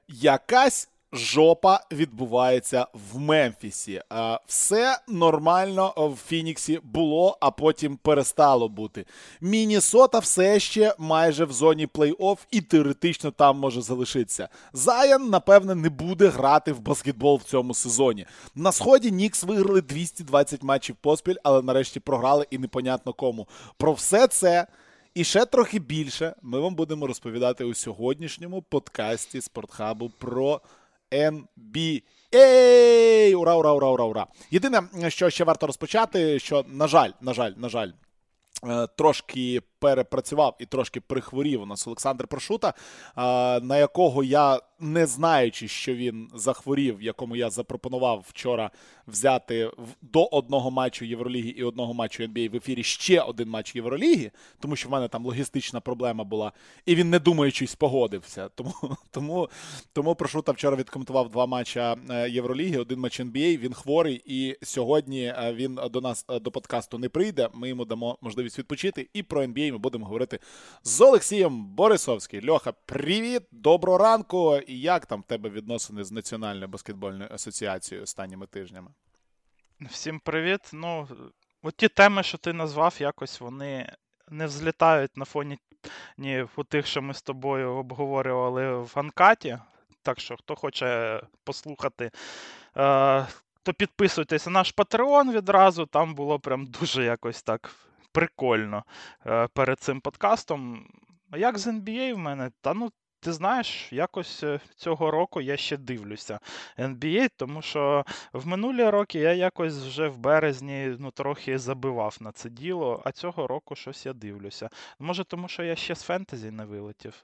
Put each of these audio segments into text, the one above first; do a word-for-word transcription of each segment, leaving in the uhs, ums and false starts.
Якась жопа відбувається в Мемфісі. Все нормально в Фініксі було, а потім перестало бути. Міннесота все ще майже в зоні плей-офф і теоретично там може залишитися. Зайон, напевне, не буде грати в баскетбол в цьому сезоні. На сході Нікс виграли двісті двадцять матчів поспіль, але нарешті програли і непонятно кому. Про все це і ще трохи більше ми вам будемо розповідати у сьогоднішньому подкасті Спортхабу про ен бі ей! Ура, ура, ура, ура, ура! Єдине, що ще варто розпочати, що, на жаль, на жаль, на жаль, трошки перепрацював і трошки прихворів у нас Олександр Прошута, на якого я, не знаючи, що він захворів, якому я запропонував вчора взяти до одного матчу Євроліги і одного матчу ен бі ей в ефірі ще один матч Євроліги, тому що в мене там логістична проблема була, і він не думаючись погодився. Тому, тому, тому Прошута вчора відкоментував два матча Євроліги, один матч ен бі ей, він хворий, і сьогодні він до нас, до подкасту не прийде, ми йому дамо можливість відпочити, і про ен бі ей ми будемо говорити з Олексієм Борисовським. Льоха, привіт, доброго ранку. І як там в тебе відносини з Національною баскетбольною асоціацією останніми тижнями? Всім привіт. Ну, от ті теми, що ти назвав, якось вони не взлітають на фоні ні у тих, що ми з тобою обговорювали в Анкаті. Так що, хто хоче послухати, е- то підписуйтесь на наш Patreon відразу. Там було прям дуже якось так прикольно е- перед цим подкастом. А як з ен бі ей в мене? Та ну, ти знаєш, якось цього року я ще дивлюся ен бі ей, тому що в минулі роки я якось вже в березні ну, трохи забивав на це діло, а цього року щось я дивлюся. Може, тому що я ще з фентезі не вилетів?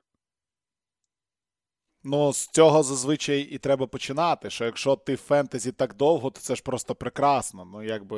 Ну, з цього зазвичай і треба починати, що якщо ти в фентезі так довго, то це ж просто прекрасно. Ну, якби,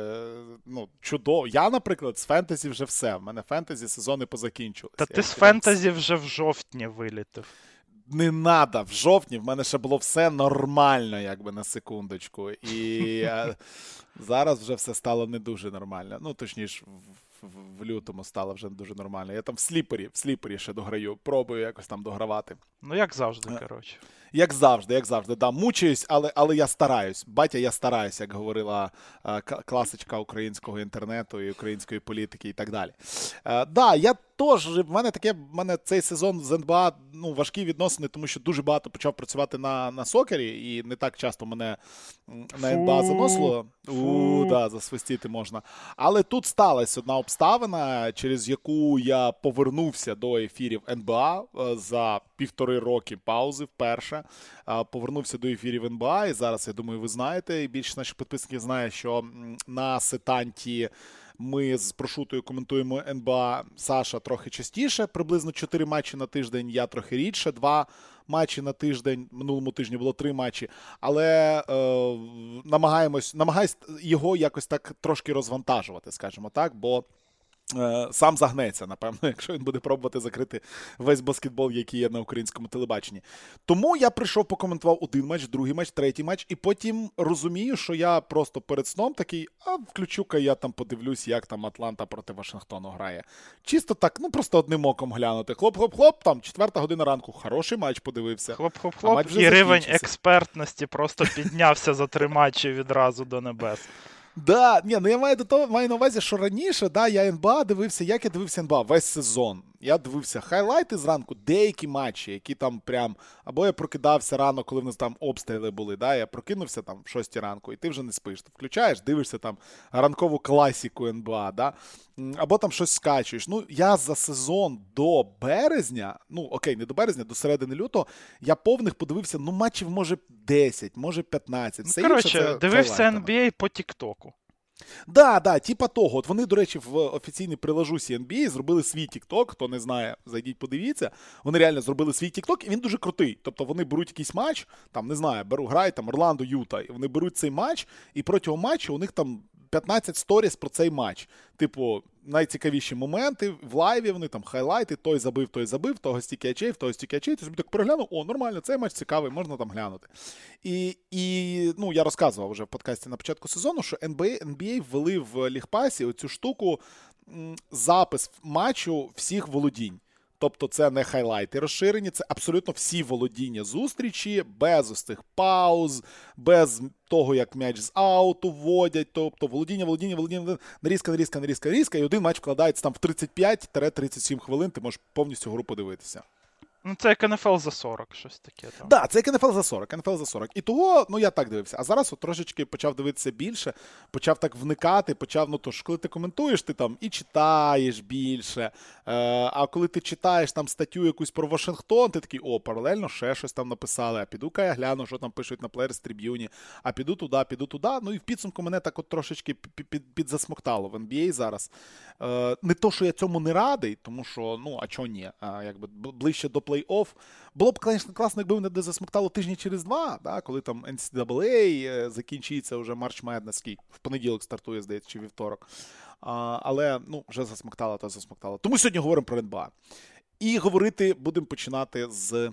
ну, чудово. Я, наприклад, з фентезі вже все. В мене фентезі сезони позакінчилися. Та ти з фентезі вже в жовтні вилітив. Не надо, в жовтні в мене ще було все нормально, якби, на секундочку. І зараз вже все стало не дуже нормально. Ну, точніше, в, в, в лютому стало вже не дуже нормально. Я там в сліпері, в сліпері ще дограю, пробую якось там догравати. Ну, як завжди, коротше. Як завжди, як завжди, да, мучаюсь, але, але я стараюсь. Батя, я стараюсь, як говорила а, класичка українського інтернету і української політики і так далі. А, да, я теж, в мене таке, в мене цей сезон з ен би ей, ну, важкі відносини, тому що дуже багато почав працювати на, на сокері, і не так часто мене на ен би ей заносило. У, да, засвистіти можна. Але тут сталася одна обставина, через яку я повернувся до ефірів ен би ей за півтори роки паузи вперше. Повернувся до ефірів ен би ей, і зараз, я думаю, ви знаєте, і більше наших підписників знає, що на сетанті ми з Прошутою коментуємо ен би ей. Саша трохи частіше, приблизно чотири матчі на тиждень, я трохи рідше, два матчі на тиждень, минулому тижні було три матчі, але е, намагаємось, намагаюсь його якось так трошки розвантажувати, скажімо так, бо сам загнеться, напевно, якщо він буде пробувати закрити весь баскетбол, який є на українському телебаченні. Тому я прийшов, покоментував один матч, другий матч, третій матч, і потім розумію, що я просто перед сном такий, а включу-ка я там подивлюсь, як там Атланта проти Вашингтону грає. Чисто так, ну просто одним оком глянути. Хлоп-хлоп-хлоп, там четверта година ранку, хороший матч подивився. Хлоп-хлоп-хлоп, і рівень експертності просто піднявся за три матчі відразу до небес. Да, ні, ну я маю до того, маю на увазі, що раніше, да, я ен би ей дивився, як я дивився ен би ей весь сезон. Я дивився хайлайти зранку, деякі матчі, які там прям, або я прокидався рано, коли в нас там обстріли були, да, я прокинувся там в шостій ранку, і ти вже не спиш. Ти включаєш, дивишся там ранкову класіку ен би ей, да, або там щось скачуєш. Ну, я за сезон до березня, ну, окей, не до березня, до середини лютого, я повних подивився, ну, матчів, може, десять, може, п'ятнадцять. Ну, коротше, дивився ен би ей по тіктоку. Да, да, типа того. От вони, до речі, в офіційній приложусі ен бі ей зробили свій TikTok, хто не знає, зайдіть, подивіться. Вони реально зробили свій TikTok, і він дуже крутий. Тобто вони беруть якийсь матч, там, не знаю, беру, грають там Орландо, Юта, і вони беруть цей матч, і протягом матчу у них там п'ятнадцять сторіс про цей матч. Типу, найцікавіші моменти в лайві, вони там хайлайти, той забив, той забив, того стільки ачей, в того стільки ачей. Ти собі так переглянув, о, нормально, цей матч цікавий, можна там глянути. І, і ну, я розказував вже в подкасті на початку сезону, що ен би ей, ен бі ей ввели в лігпасі оцю штуку, запис матчу всіх володінь. Тобто це не хайлайти розширені, це абсолютно всі володіння зустрічі, без ось цих пауз, без того, як м'яч з ауту вводять, тобто володіння, володіння, володіння, нарізка, нарізка, нарізка, нарізка, і один матч вкладається там в тридцять п'ять - тридцять сім хвилин, ти можеш повністю гру подивитися. Ну, це як ен еф ел за сорок, щось таке там. Так, да, це як ен еф ел за сорок, ен еф ел за сорок. І того, ну я так дивився. А зараз от трошечки почав дивитися більше, почав так вникати, почав, ну то ж, коли ти коментуєш, ти там і читаєш більше. Е, а коли ти читаєш там статтю якусь про Вашингтон, ти такий, о, паралельно ще щось там написали, а піду-ка я гляну, що там пишуть на Players Tribune, а піду туди, піду туди. Ну і в підсумку мене так от трошечки підзасмоктало в ен бі ей зараз. Е, не то, що я цьому не радий, тому що, ну, а чого ні? А, якби ближче до плей-офф. Було б, звісно, класно, якби мене засмоктало тижні через два, да, коли там ен сі ей ей е, закінчиться вже March Madness, в понеділок стартує, здається, чи вівторок. А, але, ну, вже засмоктало, то засмоктало. Тому сьогодні говоримо про ен би ей. І говорити будемо починати з...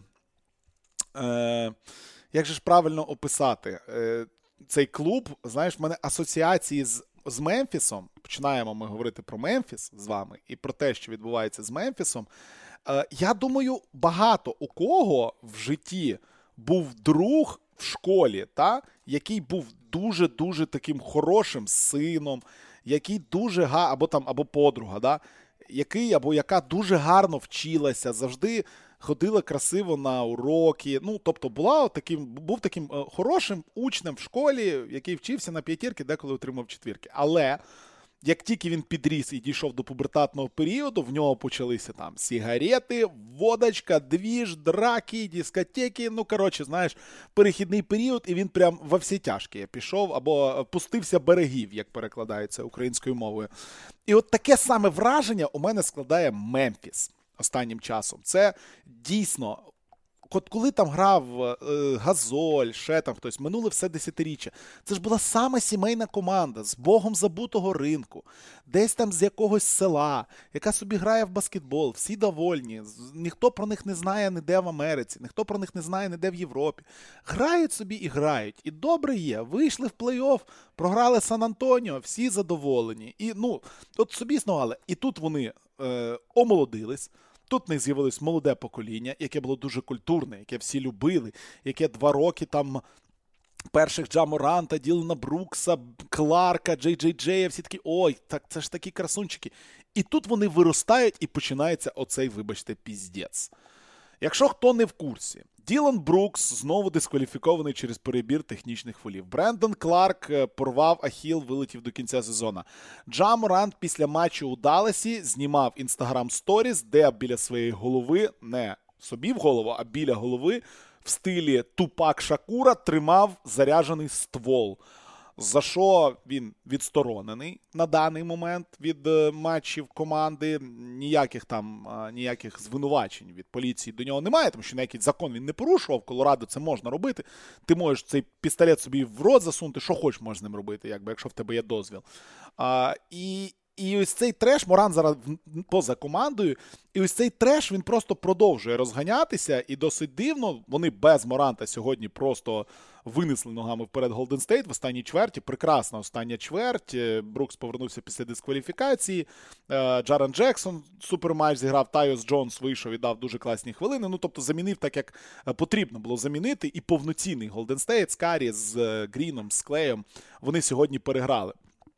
Е, як же ж правильно описати? Е, цей клуб, знаєш, в мене асоціації з з Мемфісом, починаємо ми говорити про Мемфіс з вами і про те, що відбувається з Мемфісом. Е, я думаю, багато у кого в житті був друг в школі, та, який був дуже-дуже таким хорошим сином, який дуже га, або там, або подруга, да, який або яка дуже гарно вчилася, завжди ходила красиво на уроки. Ну, тобто була таким, був таким хорошим учнем в школі, який вчився на п'ятірки, деколи отримав четвірки. Але як тільки він підріс і дійшов до пубертатного періоду, в нього почалися там сигарети, водочка, двіж, драки, дискотеки. Ну, коротше, знаєш, перехідний період, і він прям во всі тяжкі пішов або пустився берегів, як перекладається українською мовою. І от таке саме враження у мене складає Мемфіс останнім часом. Це дійсно, от коли там грав е, Газоль, ще там хтось, минуле все десятиріччя, це ж була саме сімейна команда з богом забутого ринку, десь там з якогось села, яка собі грає в баскетбол, всі довольні, ніхто про них не знає ніде в Америці, ніхто про них не знає ніде в Європі. Грають собі і грають. І добре є, вийшли в плей-офф, програли Сан-Антоніо, всі задоволені. І, ну, от собі існували. І тут вони е, омолодились. Тут в них з'явилось молоде покоління, яке було дуже культурне, яке всі любили, яке два роки там перших Джа Моранта, Ділана Брукса, Кларка, Джей Джей Джея, всі такі, ой, так це ж такі красунчики. І тут вони виростають і починається оцей, вибачте, піздець. Якщо хто не в курсі, Ділан Брукс знову дискваліфікований через перебір технічних фолів. Брендон Кларк порвав ахіл, вилетів до кінця сезону. Джа Морант після матчу у Далласі знімав Instagram Stories, де біля своєї голови, не собі в голову, а біля голови, в стилі Тупак Шакура тримав заряджений ствол. За що він відсторонений на даний момент від е, матчів команди. Ніяких там, е, ніяких звинувачень від поліції до нього немає, тому що ніякий закон він не порушував. В Колорадо це можна робити. Ти можеш цей пістолет собі в рот засунути, що хочеш можеш з ним робити, якби, якщо в тебе є дозвіл. А, і, і ось цей треш, Моран зараз поза командою, і ось цей треш, він просто продовжує розганятися, і досить дивно, вони без Моранта сьогодні просто винесли ногами вперед Голден Стейт в останній чверті. Прекрасна остання чверть. Брукс повернувся після дискваліфікації. Джарен Джексон суперматч зіграв. Тайос Джонс вийшов і дав дуже класні хвилини. Ну, тобто замінив так, як потрібно було замінити. І повноцінний Голден Стейт з Карі, з Гріном, з Клеєм вони сьогодні переграли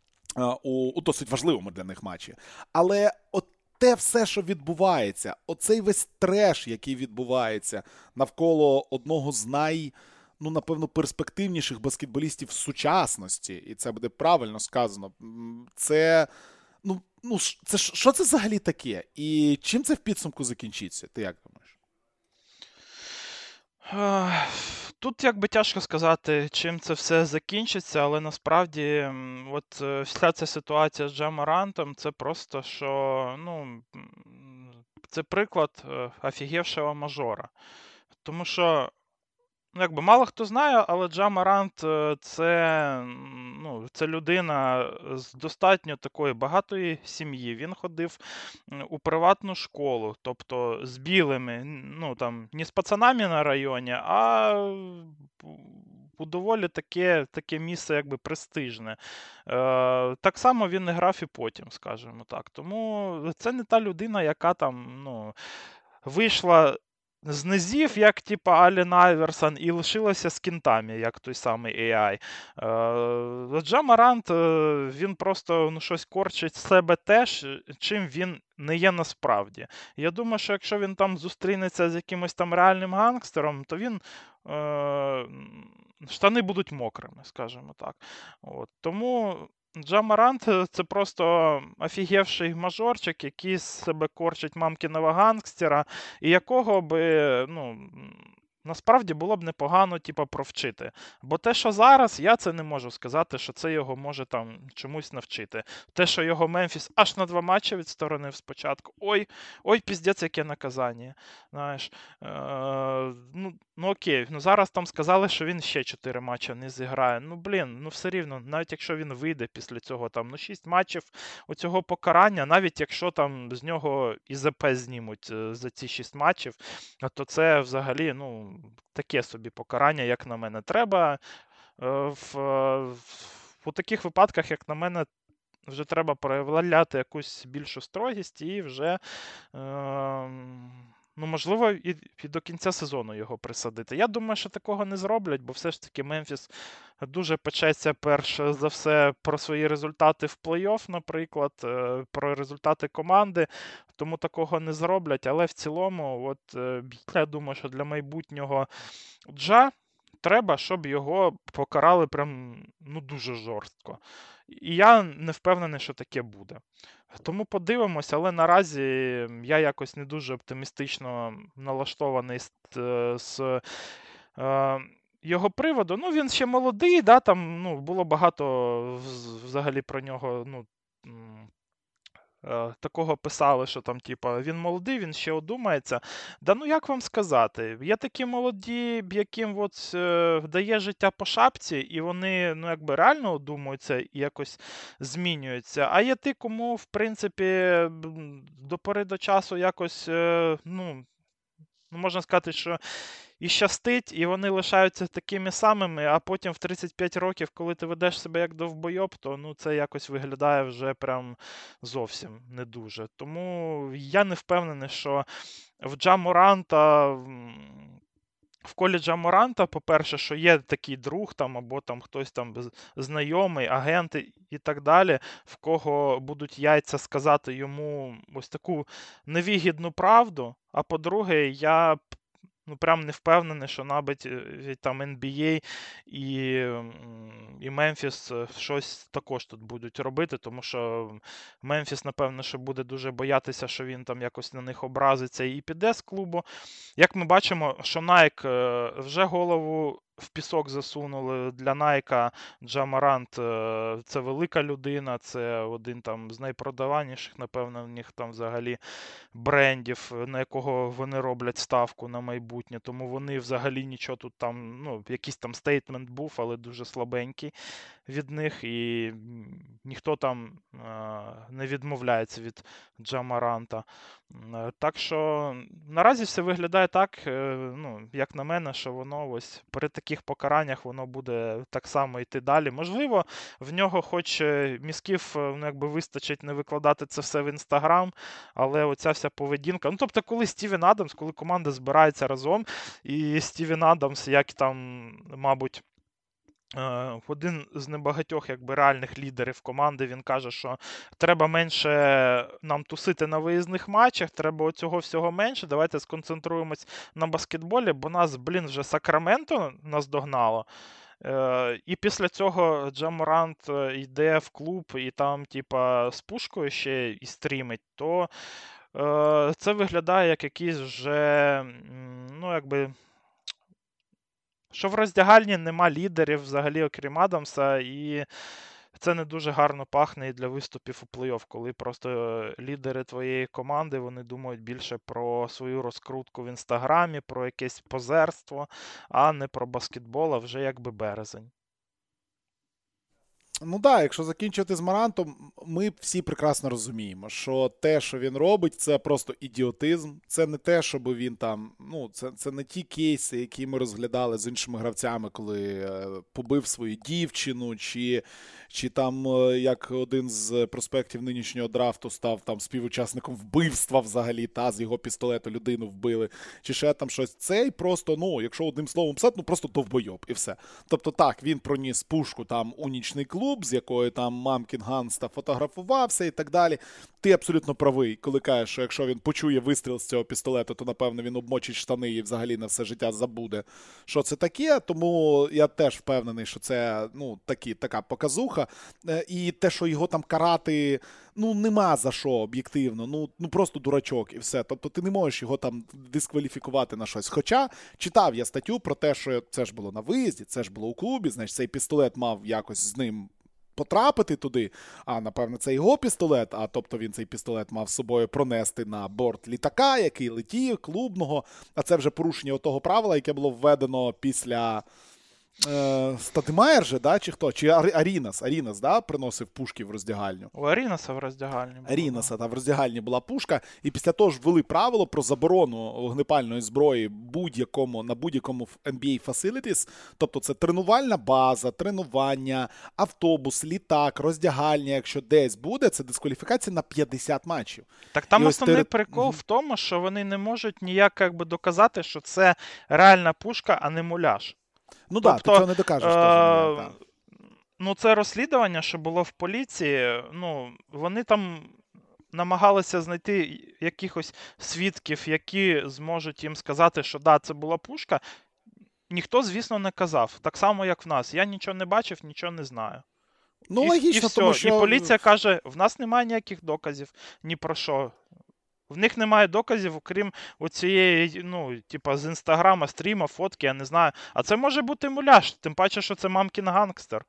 у, у досить важливому для них матчі. Але от те все, що відбувається, оцей весь треш, який відбувається навколо одного з най... ну, напевно, перспективніших баскетболістів в сучасності, і це буде правильно сказано, це, ну, ну, це, що це взагалі таке? І чим це в підсумку закінчиться? Ти як думаєш? Тут якби тяжко сказати, чим це все закінчиться, але насправді от вся ця ситуація з Джа Морантом, це просто, що, ну, це приклад офігевшого мажора. Тому що, ну, якби мало хто знає, але Джа Морант це, ну, це людина з достатньо такої багатої сім'ї. Він ходив у приватну школу, тобто з білими, ну там не з пацанами на районі, а у доволі таке, таке місце якби престижне. Е, так само він не грав і потім, скажімо так. Тому це не та людина, яка там, ну, вийшла з низів, як типа Ален Айверсон, і лишилася з кінтами, як той самий ей ай. Е, Джа Морант, е, він просто ну, щось корчить з себе теж, чим він не є насправді. Я думаю, що якщо він там зустрінеться з якимось там реальним гангстером, то він е, штани будуть мокрими, скажімо так. От. Тому Джа Морант – це просто офігевший мажорчик, який з себе корчить мамкіного гангстера, і якого би, ну, насправді було б непогано, типу, провчити. Бо те, що зараз, я це не можу сказати, що це його може там чомусь навчити. Те, що його Мемфіс аж на два матчі відсторонив спочатку. Ой, ой, піздець, яке наказання. Знаєш, е, ну, ну окей, ну зараз там сказали, що він ще чотири матчі не зіграє. Ну, блін, ну все рівно, навіть якщо він вийде після цього там, ну, шість матчів оцього покарання, навіть якщо там з нього і зе пе знімуть е, за ці шість матчів, то це взагалі, ну, таке собі покарання, як на мене. Треба е, в, в, у таких випадках, як на мене, вже треба проявляти якусь більшу строгість і вже, е, ну, можливо, і, і до кінця сезону його присадити. Я думаю, що такого не зроблять, бо все ж таки Мемфіс дуже печеться, перш за все, про свої результати в плей-офф, наприклад, е, про результати команди, тому такого не зроблять. Але в цілому, от, е, я думаю, що для майбутнього Джа треба, щоб його покарали прям, ну, дуже жорстко. І я не впевнений, що таке буде. Тому подивимось, але наразі я якось не дуже оптимістично налаштований з, е, з е, його приводу. Ну, він ще молодий, да, там ну, було багато вз- взагалі про нього. Ну, м, е, такого писали, що там, типа, він молодий, він ще одумається. Да ну як вам сказати? Є такі молоді, яким от, е, дає життя по шапці, і вони ну, якби реально одумуються і якось змінюються. А є ті, кому, в принципі, м, до пори до часу якось, е, ну, ну, можна сказати, що і щастить, і вони лишаються такими самими, а потім в тридцять п'ять років, коли ти ведеш себе як довбойоб, то ну, це якось виглядає вже прям зовсім не дуже. Тому я не впевнений, що в Джа Моранта, м, в колі Джа Моранта, по-перше, що є такий друг там, або там хтось там з- знайомий, агенти і так далі, в кого будуть яйця сказати йому ось таку невигідну правду. А по-друге, я ну, прям не впевнений, що навіть е, там ен бі ей і, м, і Мемфіс е, щось також тут будуть робити, тому що Мемфіс, напевно, що буде дуже боятися, що він там якось на них образиться і піде з клубу. Як ми бачимо, що Nike е, вже голову в пісок засунули. Для Nike Джа Морант е, це велика людина, це один там з найпродаваніших, напевно, в них там взагалі брендів, на якого вони роблять ставку на майбутнє. Тому вони взагалі нічого тут там, ну, якийсь там стейтмент був, але дуже слабенький від них. І м, ніхто там е, не відмовляється від Джа Моранта. М, е, Так що наразі все виглядає так, е, ну, як на мене, що воно ось при таких покараннях воно буде так само йти далі. Можливо, в нього хоч е, мізків е, ну, якби вистачить не викладати це все в Інстаграм, але оця вся поведінка. Ну, тобто, коли Стівен Адамс, коли команда збирається разом, і Стівен Адамс, як там, мабуть, е, один з небагатьох якби реальних лідерів команди, він каже, що треба менше нам тусити на виїзних матчах, треба оцього всього менше. Давайте сконцентруємось на баскетболі, бо нас, блін, вже Сакраменто наздогнало. Е, І після цього Джа Морант е, йде в клуб і там, типа, з пушкою ще і стрімить, то е, це виглядає як якийсь вже, м, ну, якби, що в роздягальні нема лідерів взагалі, окрім Адамса, і це не дуже гарно пахне і для виступів у плей-офф, коли просто е, лідери твоєї команди, вони думають більше про свою розкрутку в інстаграмі, про якесь позерство, а не про баскетбол, а вже якби березень. Ну так, да, якщо закінчувати з Марантом, ми всі прекрасно розуміємо, що те, що він робить, це просто ідіотизм. Це не те, щоб він там, ну, це, це не ті кейси, які ми розглядали з іншими гравцями, коли е, побив свою дівчину, чи, чи там, е, як один з проспектів нинішнього драфту став там співучасником вбивства взагалі, та з його пістолету людину вбили, чи ще там щось. Цей просто, ну, якщо одним словом писати, ну просто довбойоб і все. Тобто так, він проніс пушку там у нічний клуб, з якою там мамкін Ганста фотографувався і так далі. Ти абсолютно правий, коли кажеш, що якщо він почує вистріл з цього пістолету, то, напевно, він обмочить штани і взагалі на все життя забуде, що це таке. Тому я теж впевнений, що це, ну, такі, така показуха. І те, що його там карати, ну, нема за що об'єктивно. Ну, ну просто дурачок і все. Тобто ти не можеш його там дискваліфікувати на щось. Хоча читав я статтю про те, що це ж було на виїзді, це ж було у клубі, значить цей пістолет мав якось з ним потрапити туди, а, напевно, це його пістолет, а тобто він цей пістолет мав з собою пронести на борт літака, який летів, клубного, а це вже порушення того правила, яке було введено після е, Стадемаєр же, да, чи хто? Чи Арінас, Арінас, да, приносив пушки в роздягальню? У Арінаса в роздягальні. Арінаса, та в роздягальні була пушка, і після того ж ввели правило про заборону вогнепальної зброї будь-якому, на будь-якому ен бі ей Facilities, тобто це тренувальна база, тренування, автобус, літак, роздягальня, якщо десь буде, це дискваліфікація на п'ятдесят матчів. Так там І основний тери... прикол в тому, що вони не можуть ніяк як би доказати, що це реальна пушка, а не муляж. Ну так, тобто, да, ти цього не докажеш. Е- теж, не, ну, це розслідування, що було в поліції, ну, вони там намагалися знайти якихось свідків, які зможуть їм сказати, що да, це була пушка. Ніхто, звісно, не казав. Так само, як в нас. Я нічого не бачив, нічого не знаю. Ну, і, логічно, і все. тому що... І поліція каже, в нас немає ніяких доказів, ні про що. В них немає доказів, окрім оцієї, ну, типа, з інстаграма, стріма, фотки, я не знаю. А це може бути муляж, тим паче, що це мамкін гангстер.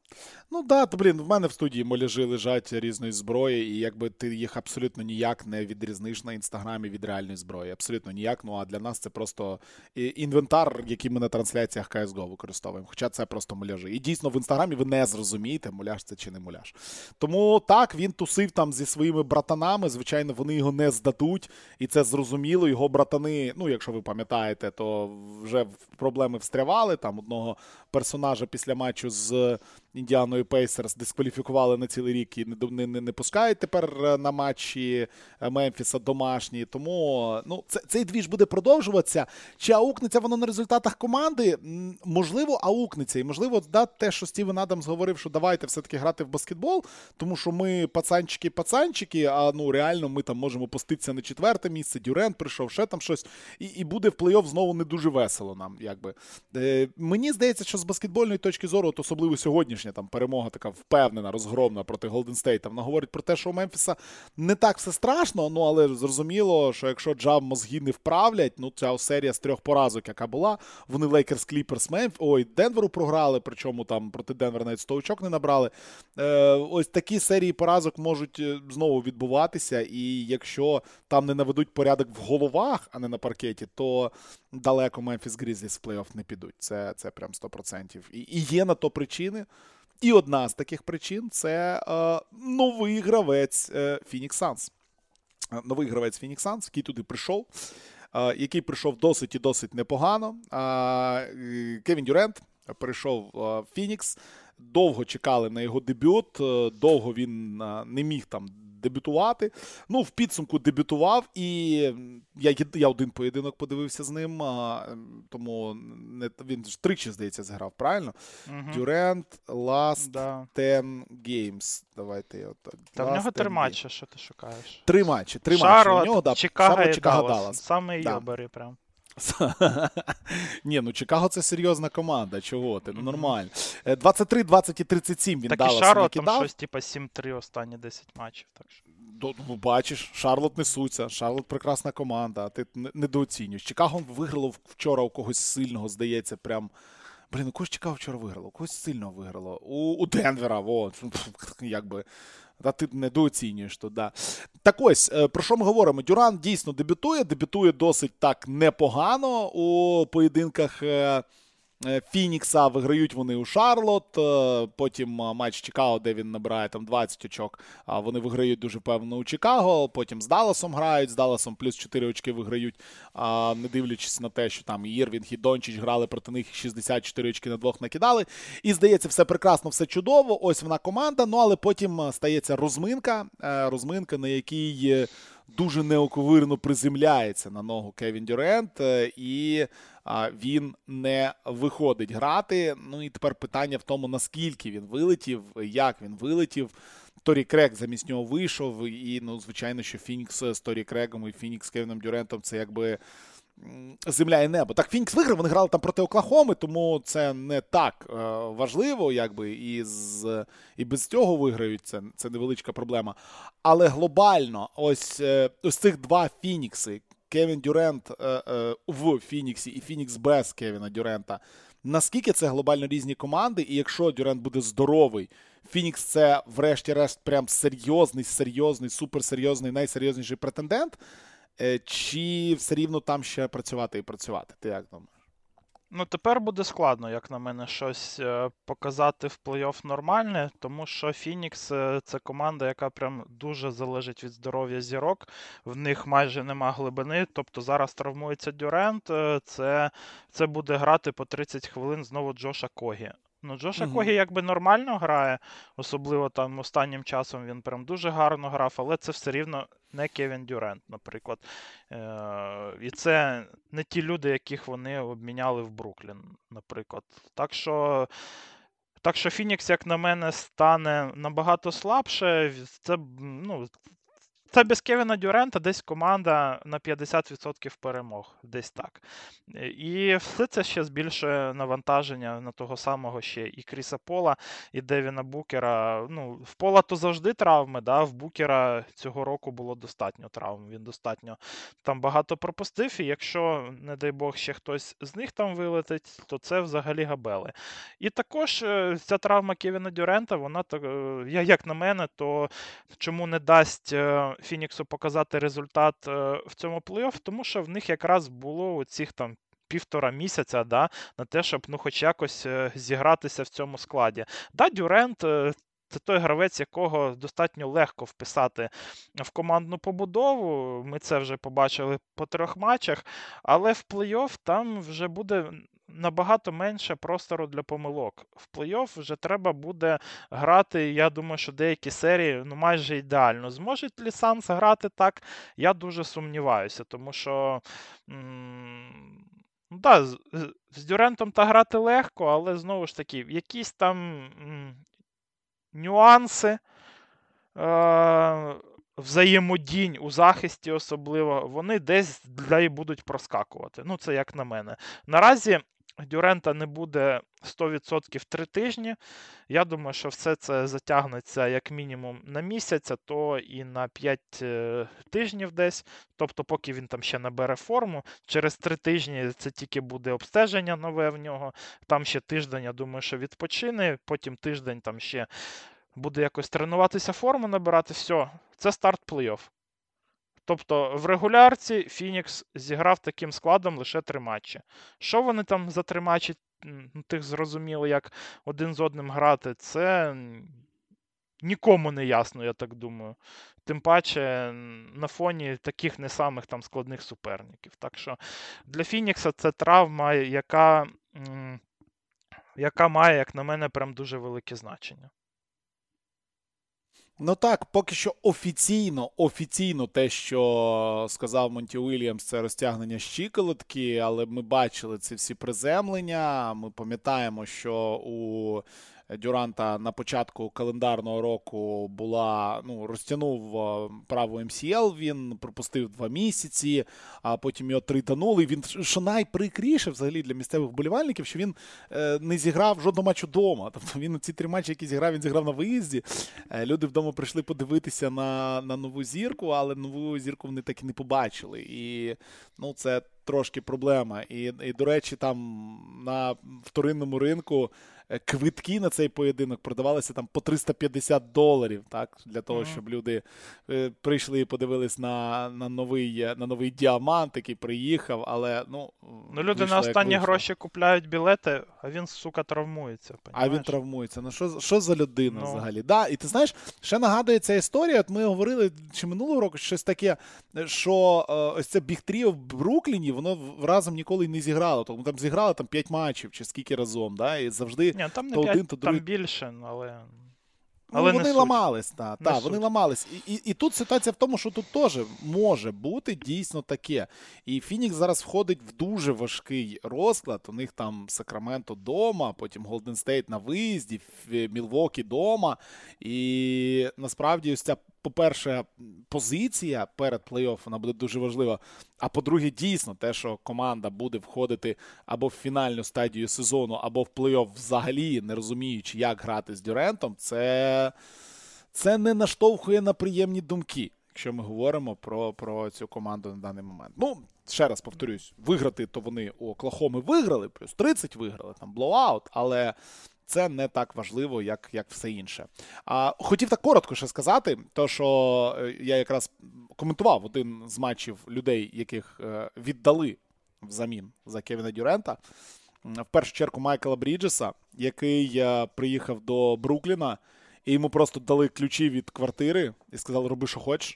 Ну да, то, блін, в мене в студії моляжі лежать різної зброї, і якби ти їх абсолютно ніяк не відрізниш на інстаграмі від реальної зброї. Абсолютно ніяк. Ну а для нас це просто інвентар, який ми на трансляціях кей ес го використовуємо. Хоча це просто моляжі. І дійсно в інстаграмі ви не зрозумієте, муляж це чи не муляж. Тому так, він тусив там зі своїми братанами. Звичайно, вони його не здадуть. І це зрозуміло. Його братани, ну якщо ви пам'ятаєте, то вже проблеми встрявали. Там одного персонажа після матчу з Індіаною Пейсерс дискваліфікували на цілий рік і не, не, не пускають тепер на матчі Мемфіса домашні. Тому ну, це, цей двіж буде продовжуватися. Чи аукнеться воно на результатах команди? Можливо, аукнеться. І можливо, да, те, що Стівен Адамс говорив, що давайте все-таки грати в баскетбол, тому що ми пацанчики-пацанчики, а ну реально ми там можемо пуститися на четверте місце, Дюрент прийшов, ще там щось, і, і буде в плей-офф знову не дуже весело нам. Якби. Е, мені здається, що з баскетбольної точки зору, от особливо сьогоднішня там перемога така впевнена, розгромна проти Голден Стейта, вона говорить про те, що у Мемфіса не так все страшно, ну але зрозуміло, що якщо Джав мозги не вправлять, ну ця серія з трьох поразок, яка була, вони Лейкерс, Кліперс, Мемф, ой, Денверу програли, причому там проти Денвера навіть сто очок не набрали. Е, ось такі серії поразок можуть знову відбуватися, і якщо там не наведуть порядок в головах, а не на паркеті, то далеко Мемфіс Грізліс в плей-офф не підуть. Це, це прям сто відсотків. І, і є на то причини. І одна з таких причин – це е, новий гравець Phoenix Suns. Новий гравець Phoenix Suns, який туди прийшов, е, який прийшов досить і досить непогано. Е, Кевін Дюрент прийшов в Phoenix. Довго чекали на його дебют, е, довго він е, не міг там дебютувати. Ну, в підсумку дебютував, і я, я один поєдинок подивився з ним, а, тому не, він ж тричі, здається, зіграв, правильно? Дюрент, угу. Last да. ten games. Давайте я отак. Та в нього три матчі, що ти шукаєш? Три матчі, три Шарлот, матчі. У нього, да, Чикаго, Шарлот, і Чикаго, Даллас. Даллас. Саме да. йобери прям. Ні, ну Чикаго це серйозна команда, чого ти, ну нормально. двадцять три двадцять і тридцять сім він так Даллас накидав. Так і Шарлот там щось типа сім три останні десять матчів. Так що. Ну, бачиш, Шарлот несуться, Шарлот прекрасна команда, а ти недооцінюєш. Чикаго виграло вчора у когось сильного, здається, прям... Блін, у когось Чикаго вчора виграло, у когось сильного виграло. У, у Денвера, во, якби... Та ти недооцінюєш то, да. Так ось, про що ми говоримо? Дюран дійсно дебютує, дебютує досить так непогано у поєдинках Фінікса, виграють вони у Шарлот, потім матч Чикаго, де він набирає там двадцять очок, вони виграють дуже впевнено у Чикаго, потім з Далласом грають, з Далласом плюс чотири очки виграють, не дивлячись на те, що там і Ірвінг, і Дончич грали проти них, шістдесят чотири очки на двох накидали. І здається, все прекрасно, все чудово, ось вона команда, ну але потім стається розминка, розминка, на якій дуже неоковирно приземляється на ногу Кевін Дюрент, і він не виходить грати. Ну і тепер питання в тому, наскільки він вилетів, як він вилетів. Торі Крейг замість нього вийшов, і, ну, звичайно, що Фінікс з Торі Крейгом і Фінікс з Кевіном Дюрентом – це якби земля і небо. Так, Фінікс виграв, вони грали там проти Оклахоми, тому це не так е, важливо, якби, і, з, і без цього виграють, це, це невеличка проблема. Але глобально, ось, е, ось цих два Фінікси, Кевін Дюрент е, е, в Фініксі і Фінікс без Кевіна Дюрента, наскільки це глобально різні команди, і якщо Дюрент буде здоровий, Фінікс це врешті-решт прям серйозний, серйозний, суперсерйозний, найсерйозніший претендент, чи все рівно там ще працювати і працювати? Ти як думаєш? Ну, тепер буде складно, як на мене, щось показати в плей-офф нормальне, тому що Фінікс – це команда, яка прям дуже залежить від здоров'я зірок, в них майже нема глибини, тобто зараз травмується Дюрент, це, це буде грати по тридцять хвилин знову Джош Окогі. Ну, Джош Окогі якби нормально грає, особливо там останнім часом він прям дуже гарно грав, але це все рівно не Кевін Дюрент, наприклад. Е- і це не ті люди, яких вони обміняли в Бруклін, наприклад. Так що, так що Фінікс, як на мене, стане набагато слабше. Це, ну, це без Кевіна Дюрента десь команда на п'ятдесят відсотків перемог, десь так. І все це ще збільшує навантаження на того самого ще і Кріса Пола, і Девіна Букера. Ну, в Пола то завжди травми, да? В Букера цього року було достатньо травм, він достатньо там багато пропустив, і якщо, не дай Бог, ще хтось з них там вилетить, то це взагалі габели. І також ця травма Кевіна Дюрента, вона, як на мене, то чому не дасть Фініксу показати результат в цьому плей-офф, тому що в них якраз було цих там півтора місяця, да, на те, щоб ну хоч якось зігратися в цьому складі. Да, Дюрент це той гравець, якого достатньо легко вписати в командну побудову, ми це вже побачили по трьох матчах, але в плей-офф там вже буде набагато менше простору для помилок. В плей-офф вже треба буде грати, я думаю, що деякі серії ну майже ідеально. Зможуть ли Санс грати так? Я дуже сумніваюся, тому що м- ну, да, з, з Дюрентом та грати легко, але знову ж таки, якісь там м- нюанси е- взаємодінь у захисті особливо, вони десь для і будуть проскакувати. Ну, це як на мене. Наразі Дюрента не буде сто відсотків три тижні. Я думаю, що все це затягнеться як мінімум на місяць, а то і на п'ять тижнів десь. Тобто, поки він там ще набере форму. Через три тижні це тільки буде обстеження нове в нього. Там ще тиждень, я думаю, що відпочине. Потім тиждень там ще буде якось тренуватися, форму набирати. Все, це старт плей-офф. Тобто в регулярці Фінікс зіграв таким складом лише три матчі. Що вони там за три матчі, тих зрозуміли, як один з одним грати, це нікому не ясно, я так думаю. Тим паче на фоні таких не самих там складних суперників. Так що для Фінікса це травма, яка, яка має, як на мене, прям дуже велике значення. Ну так, поки що офіційно, офіційно те, що сказав Монті Уільямс, це розтягнення щиколотки, але ми бачили ці всі приземлення, ми пам'ятаємо, що у Дюранта на початку календарного року була, ну, розтягнув праву ем сі ел, він пропустив два місяці, а потім його тританули. Він, що найприкріше взагалі для місцевих вболівальників, що він е, не зіграв жодного матчу вдома. Тобто він ці три матчі, які зіграв, він зіграв на виїзді. Е, люди вдома прийшли подивитися на, на нову зірку, але нову зірку вони так і не побачили. І, ну, це трошки проблема. І, і до речі, там на вторинному ринку квитки на цей поєдинок продавалися там по триста п'ятдесят доларів, так, для того, Мгм. щоб люди е, прийшли і подивились на, на, новий, е, на новий діамант, який приїхав, але, ну, Ну, люди вийшло, на як останні вийшло. гроші купляють білети, а він, сука, травмується, А він понімаєш? травмується. Ну що, що за людина Ну. взагалі? Да, і ти знаєш, ще нагадує ця історія, от ми говорили чи минулого року щось таке, що е, ось це Біг Тріо в Брукліні, воно в- разом ніколи й не зіграло. Тому там зіграли там п'ять матчів чи скільки разом, да, і завжди Ні, там не то п'ять, один, то там другий. більше, але... Ну, але не вони суть. ламались, та, Не та, суть. вони ламались. І, і, і тут ситуація в тому, що тут теж може бути дійсно таке. І Фінікс зараз входить в дуже важкий розклад. У них там Сакраменто дома, потім Голден Стейт на виїзді, Мілвокі дома. І насправді ось ця, по-перше, позиція перед плей-офф, вона буде дуже важлива. А по-друге, дійсно, те, що команда буде входити або в фінальну стадію сезону, або в плей-офф взагалі, не розуміючи, як грати з Дюрентом, це, це не наштовхує на приємні думки, якщо ми говоримо про, про цю команду на даний момент. Ну, ще раз повторюсь, виграти, то вони у Оклахоми виграли, плюс тридцять виграли, там блоуаут, але це не так важливо, як, як все інше. А, хотів так коротко ще сказати, то що е, я якраз коментував один з матчів людей, яких е, віддали взамін за Кевіна Дюрента. В першу чергу Майкла Бріджеса, який е, приїхав до Брукліна, і йому просто дали ключі від квартири і сказали, роби, що хочеш.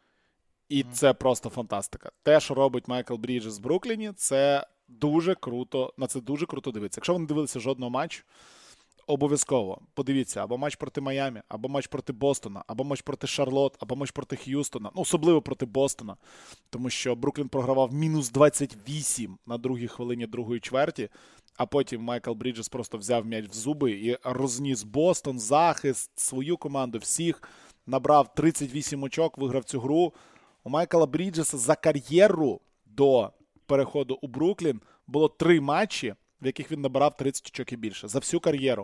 І це просто фантастика. Те, що робить Майкл Бріджес в Брукліні, це дуже круто, на це дуже круто дивитися. Якщо ви не дивилися жодного матчу, обов'язково подивіться або матч проти Майамі, або матч проти Бостона, або матч проти Шарлот, або матч проти Х'юстона, ну, особливо проти Бостона, тому що Бруклін програвав мінус двадцять вісім на другій хвилині другої чверті, а потім Майкл Бріджес просто взяв м'яч в зуби і розніс Бостон, захист, свою команду, всіх, набрав тридцять вісім очок, виграв цю гру. У Майкла Бріджеса за кар'єру до переходу у Бруклін було три матчі, в яких він набирав тридцять очок і більше. За всю кар'єру.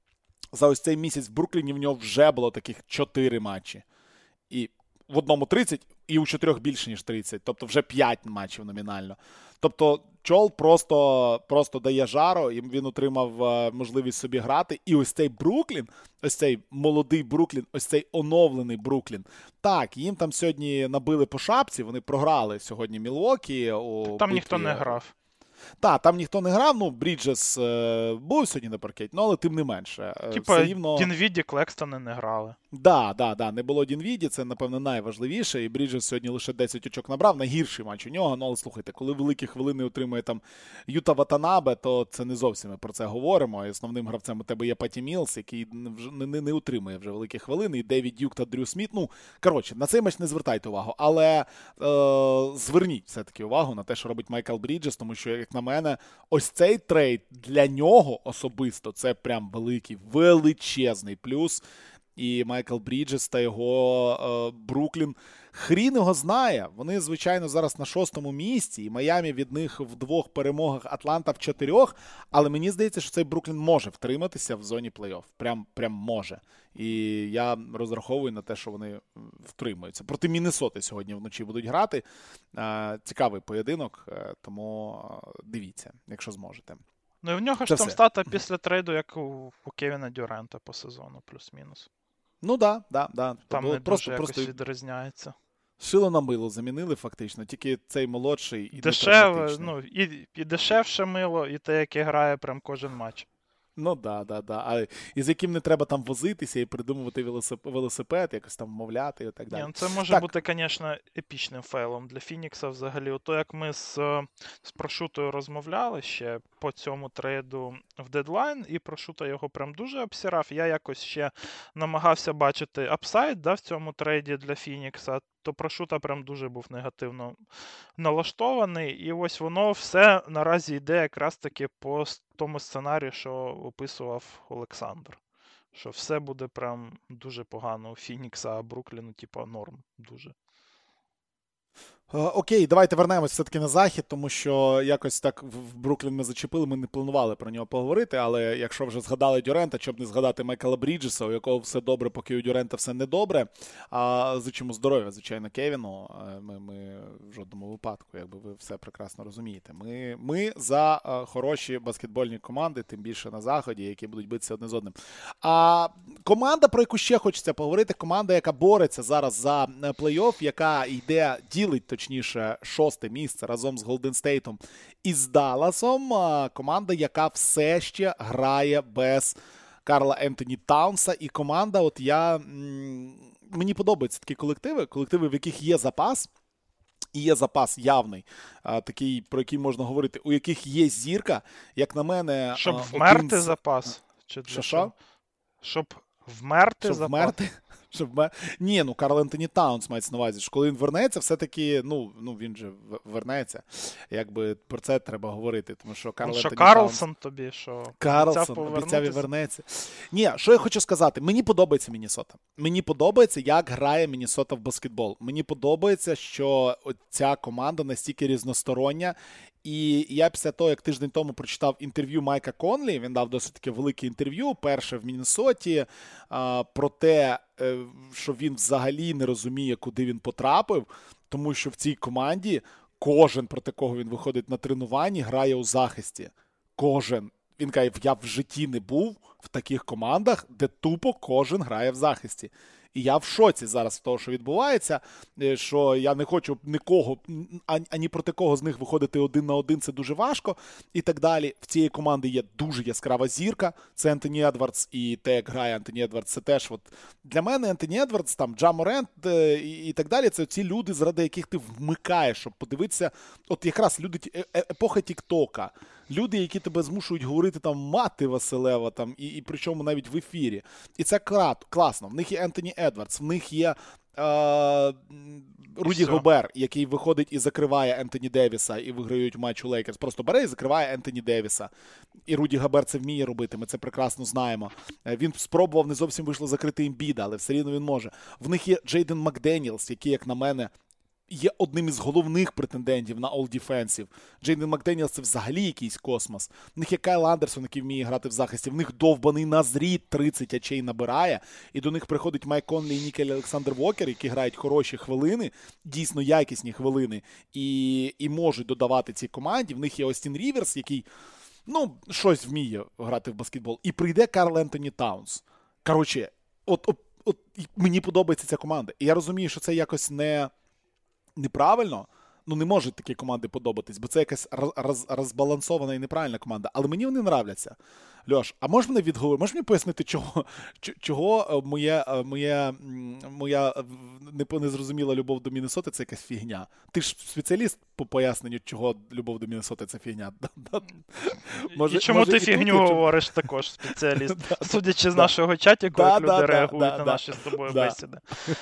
За ось цей місяць в Брукліні в нього вже було таких чотири матчі. І в одному тридцять, і у чотирьох більше, ніж тридцять. Тобто вже п'ять матчів номінально. Тобто Чол просто, просто дає жару, і він отримав е, можливість собі грати. І ось цей Бруклін, ось цей молодий Бруклін, ось цей оновлений Бруклін. Так, їм там сьогодні набили по шапці, вони програли сьогодні Мілвокі. У Там битві... ніхто не грав. Так, там ніхто не грав, ну, Бріджес е, був сьогодні на паркеті, ну, але тим не менше. Е, Типа, все рівно... Дінвіді, Клекстони не грали. Да, да, да, не було Дінвіді, це, напевно, найважливіше, і Бріджес сьогодні лише десять очок набрав, найгірший матч у нього, ну, але слухайте, коли великі хвилини отримує там Юта Ватанабе, то це не зовсім ми про це говоримо, і основним гравцем у тебе є Паті Мілс, який не, не, не утримує вже великі хвилини, і Девід Дюк та Дрю Сміт, ну, коротше, на цей матч не звертайте увагу, але е, зверніть все-таки увагу на те, що робить Майкл Бріджес, тому що, як на мене, ось цей трейд для нього особисто, це прям великий, величезний плюс. І Майкл Бріджес та його е, Бруклін, хрін його знає. Вони, звичайно, зараз на шостому місці, і Майамі від них в двох перемогах, Атланта в чотирьох, але мені здається, що цей Бруклін може втриматися в зоні плей-офф. Прям, прям може. І я розраховую на те, що вони втримаються. Проти Міннесоти сьогодні вночі будуть грати. Е, цікавий поєдинок, е, тому дивіться, якщо зможете. Ну і в нього Це ж там все. стата після трейду, як у, у Кевіна Дюрента по сезону, плюс-мінус. Ну да, да, да. Там Було не просто, дуже просто якось відрізняється. шило на мило замінили фактично, тільки цей молодший і Дешеве, ну, і, і дешевше мило, і те, яке грає прям кожен матч. Ну да, да, да. А і з яким не треба там возитися і придумувати велосипед, велосипед якось там вмовляти і так далі. Ні, ну це може так. бути, звісно, епічним фейлом для Фінікса взагалі. Ото як ми з, з Прошутою розмовляли ще по цьому трейду в дедлайн, і Прошута його прям дуже обсирав. Я якось ще намагався бачити апсайд, да, в цьому трейді для Фінікса, то Прошута прям дуже був негативно налаштований. І ось воно все наразі йде якраз таки по тому сценарію, що описував Олександр. Що все буде прям дуже погано у Фінікса, а Брукліну, типа, норм дуже. Окей, давайте вернемось все-таки на захід, тому що якось так в Бруклін ми зачепили, ми не планували про нього поговорити, але якщо вже згадали Дюрента, щоб не згадати Майкла Бріджеса, у якого все добре, поки у Дюрента все не добре. А зичимо здоров'я, звичайно, Кевіну. Ми, ми в жодному випадку, якби ви все прекрасно розумієте. Ми, ми за хороші баскетбольні команди, тим більше на заході, які будуть битися одне з одним. А команда, про яку ще хочеться поговорити, команда, яка бореться зараз за плей-офф, яка йде, ділить, точніше, шосте місце разом з Голден Стейтом і з Далласом. Команда, яка все ще грає без Карла Ентоні Таунса. І команда, от я... Мені подобаються такі колективи, колективи, в яких є запас. І є запас явний, а, такий, про який можна говорити, у яких є зірка, як на мене... Щоб а, вмерти з... запас? Чи для що, що? Щоб вмерти Щоб запас? вмерти? Щоб вмер... Ні, ну Карл Ентоні Таунс мається на увазі, що коли він вернеться, все-таки, ну, ну він же вернеться. Якби про це треба говорити, тому що Карл Ну, що Ентоні Карлсон Таунс... тобі, що Карлсон обіцяв і вернеться. Ні, що я хочу сказати. Мені подобається Міннесота. Мені подобається, як грає Міннесота в баскетбол. Мені подобається, що ця команда настільки різностороння. І я після того, як тиждень тому прочитав інтерв'ю Майка Конлі, він дав досить таке велике інтерв'ю, перше в Міннесоті, а, про те, що він взагалі не розуміє, куди він потрапив, тому що в цій команді кожен, проти кого він виходить на тренуванні, грає у захисті. Кожен. Він каже, я в житті не був в таких командах, де тупо кожен грає в захисті. І я в шоці зараз з того, що відбувається, що я не хочу нікого, ані проти кого з них виходити один на один, це дуже важко і так далі. В цієї команди є дуже яскрава зірка, це Ентоні Едвардс, і те, як грає Ентоні Едвардс, це теж от для мене Ентоні Едвардс, там Джа Морент і, і так далі, це ці люди, заради яких ти вмикаєш, щоб подивитися, от якраз люди, епоха Тік-Тока, люди, які тебе змушують говорити там мати Василева, там, і, і причому навіть в ефірі. І це класно. В них є Ентоні Едвардс, в них є е, Руді Гобер, який виходить і закриває Ентоні Девіса, і виграють матч у Лейкерс. Просто бере і закриває Ентоні Девіса. І Руді Гобер це вміє робити, ми це прекрасно знаємо. Він спробував, не зовсім вийшло закрити Ембіда, але все рівно він може. В них є Джейден Макденіелс, який, як на мене, є одним із головних претендентів на All-Defensive. Джейден Макденіелс – це взагалі якийсь космос. В них є Кайл Андерсон, який вміє грати в захисті. В них довбаний Назрід тридцять очей набирає. І до них приходить Майк Конлі і Нікель Олександр Вокер, які грають хороші хвилини, дійсно якісні хвилини, і, і можуть додавати цій команді. В них є Остін Ріверс, який, ну, щось вміє грати в баскетбол. І прийде Карл Ентоні Таунс. Коротше, от, от, от мені подобається ця команда. І я розумію, що це якось не... неправильно, ну не можуть такі команди подобатись, бо це якась роз, роз, розбалансована і неправильна команда. Але мені вони нравляться. Льош, а можеш мене відговорити, можеш мені пояснити, чого, чого моє, моє, моя незрозуміла любов до Міннесоти – це якась фігня? Ти ж спеціаліст по поясненню, чого любов до Міннесоти – це фігня. Може, і чому може, ти і фігню тут, говориш чому... також, спеціаліст? Судячи з нашого чатіку, як люди реагують на наші з тобою бесіди.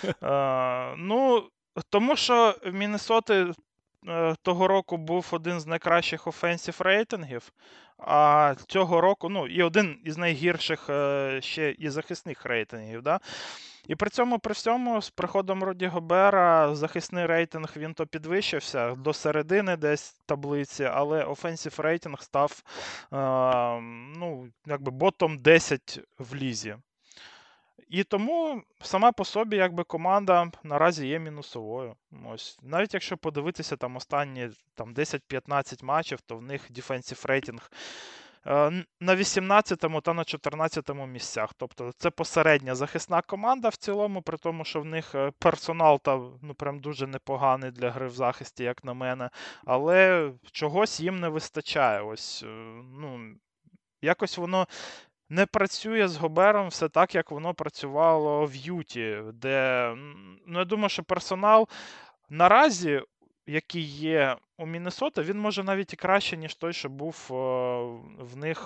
Ну, тому що в Міннесоти е, того року був один з найкращих офенсів рейтингів, а цього року, ну, і один із найгірших е, ще і захисних рейтингів, да? І при цьому, при всьому, з приходом Руді Гобера захисний рейтинг, він то підвищився до середини десь таблиці, але офенсів рейтинг став, е, ну, якби ботом десять в лізі. І тому сама по собі якби команда наразі є мінусовою. Ось. Навіть якщо подивитися там останні там, десять-п'ятнадцять матчів, то в них defensive рейтинг е, на вісімнадцятому та на чотирнадцятому місцях. Тобто це посередня захисна команда в цілому, при тому, що в них персонал там, ну, прям дуже непоганий для гри в захисті, як на мене. Але чогось їм не вистачає. Ось, ну, якось воно... не працює з Гобером все так, як воно працювало в Юті, де, ну, я думаю, що персонал наразі, який є у Міннесоти, він може навіть і краще, ніж той, що був в них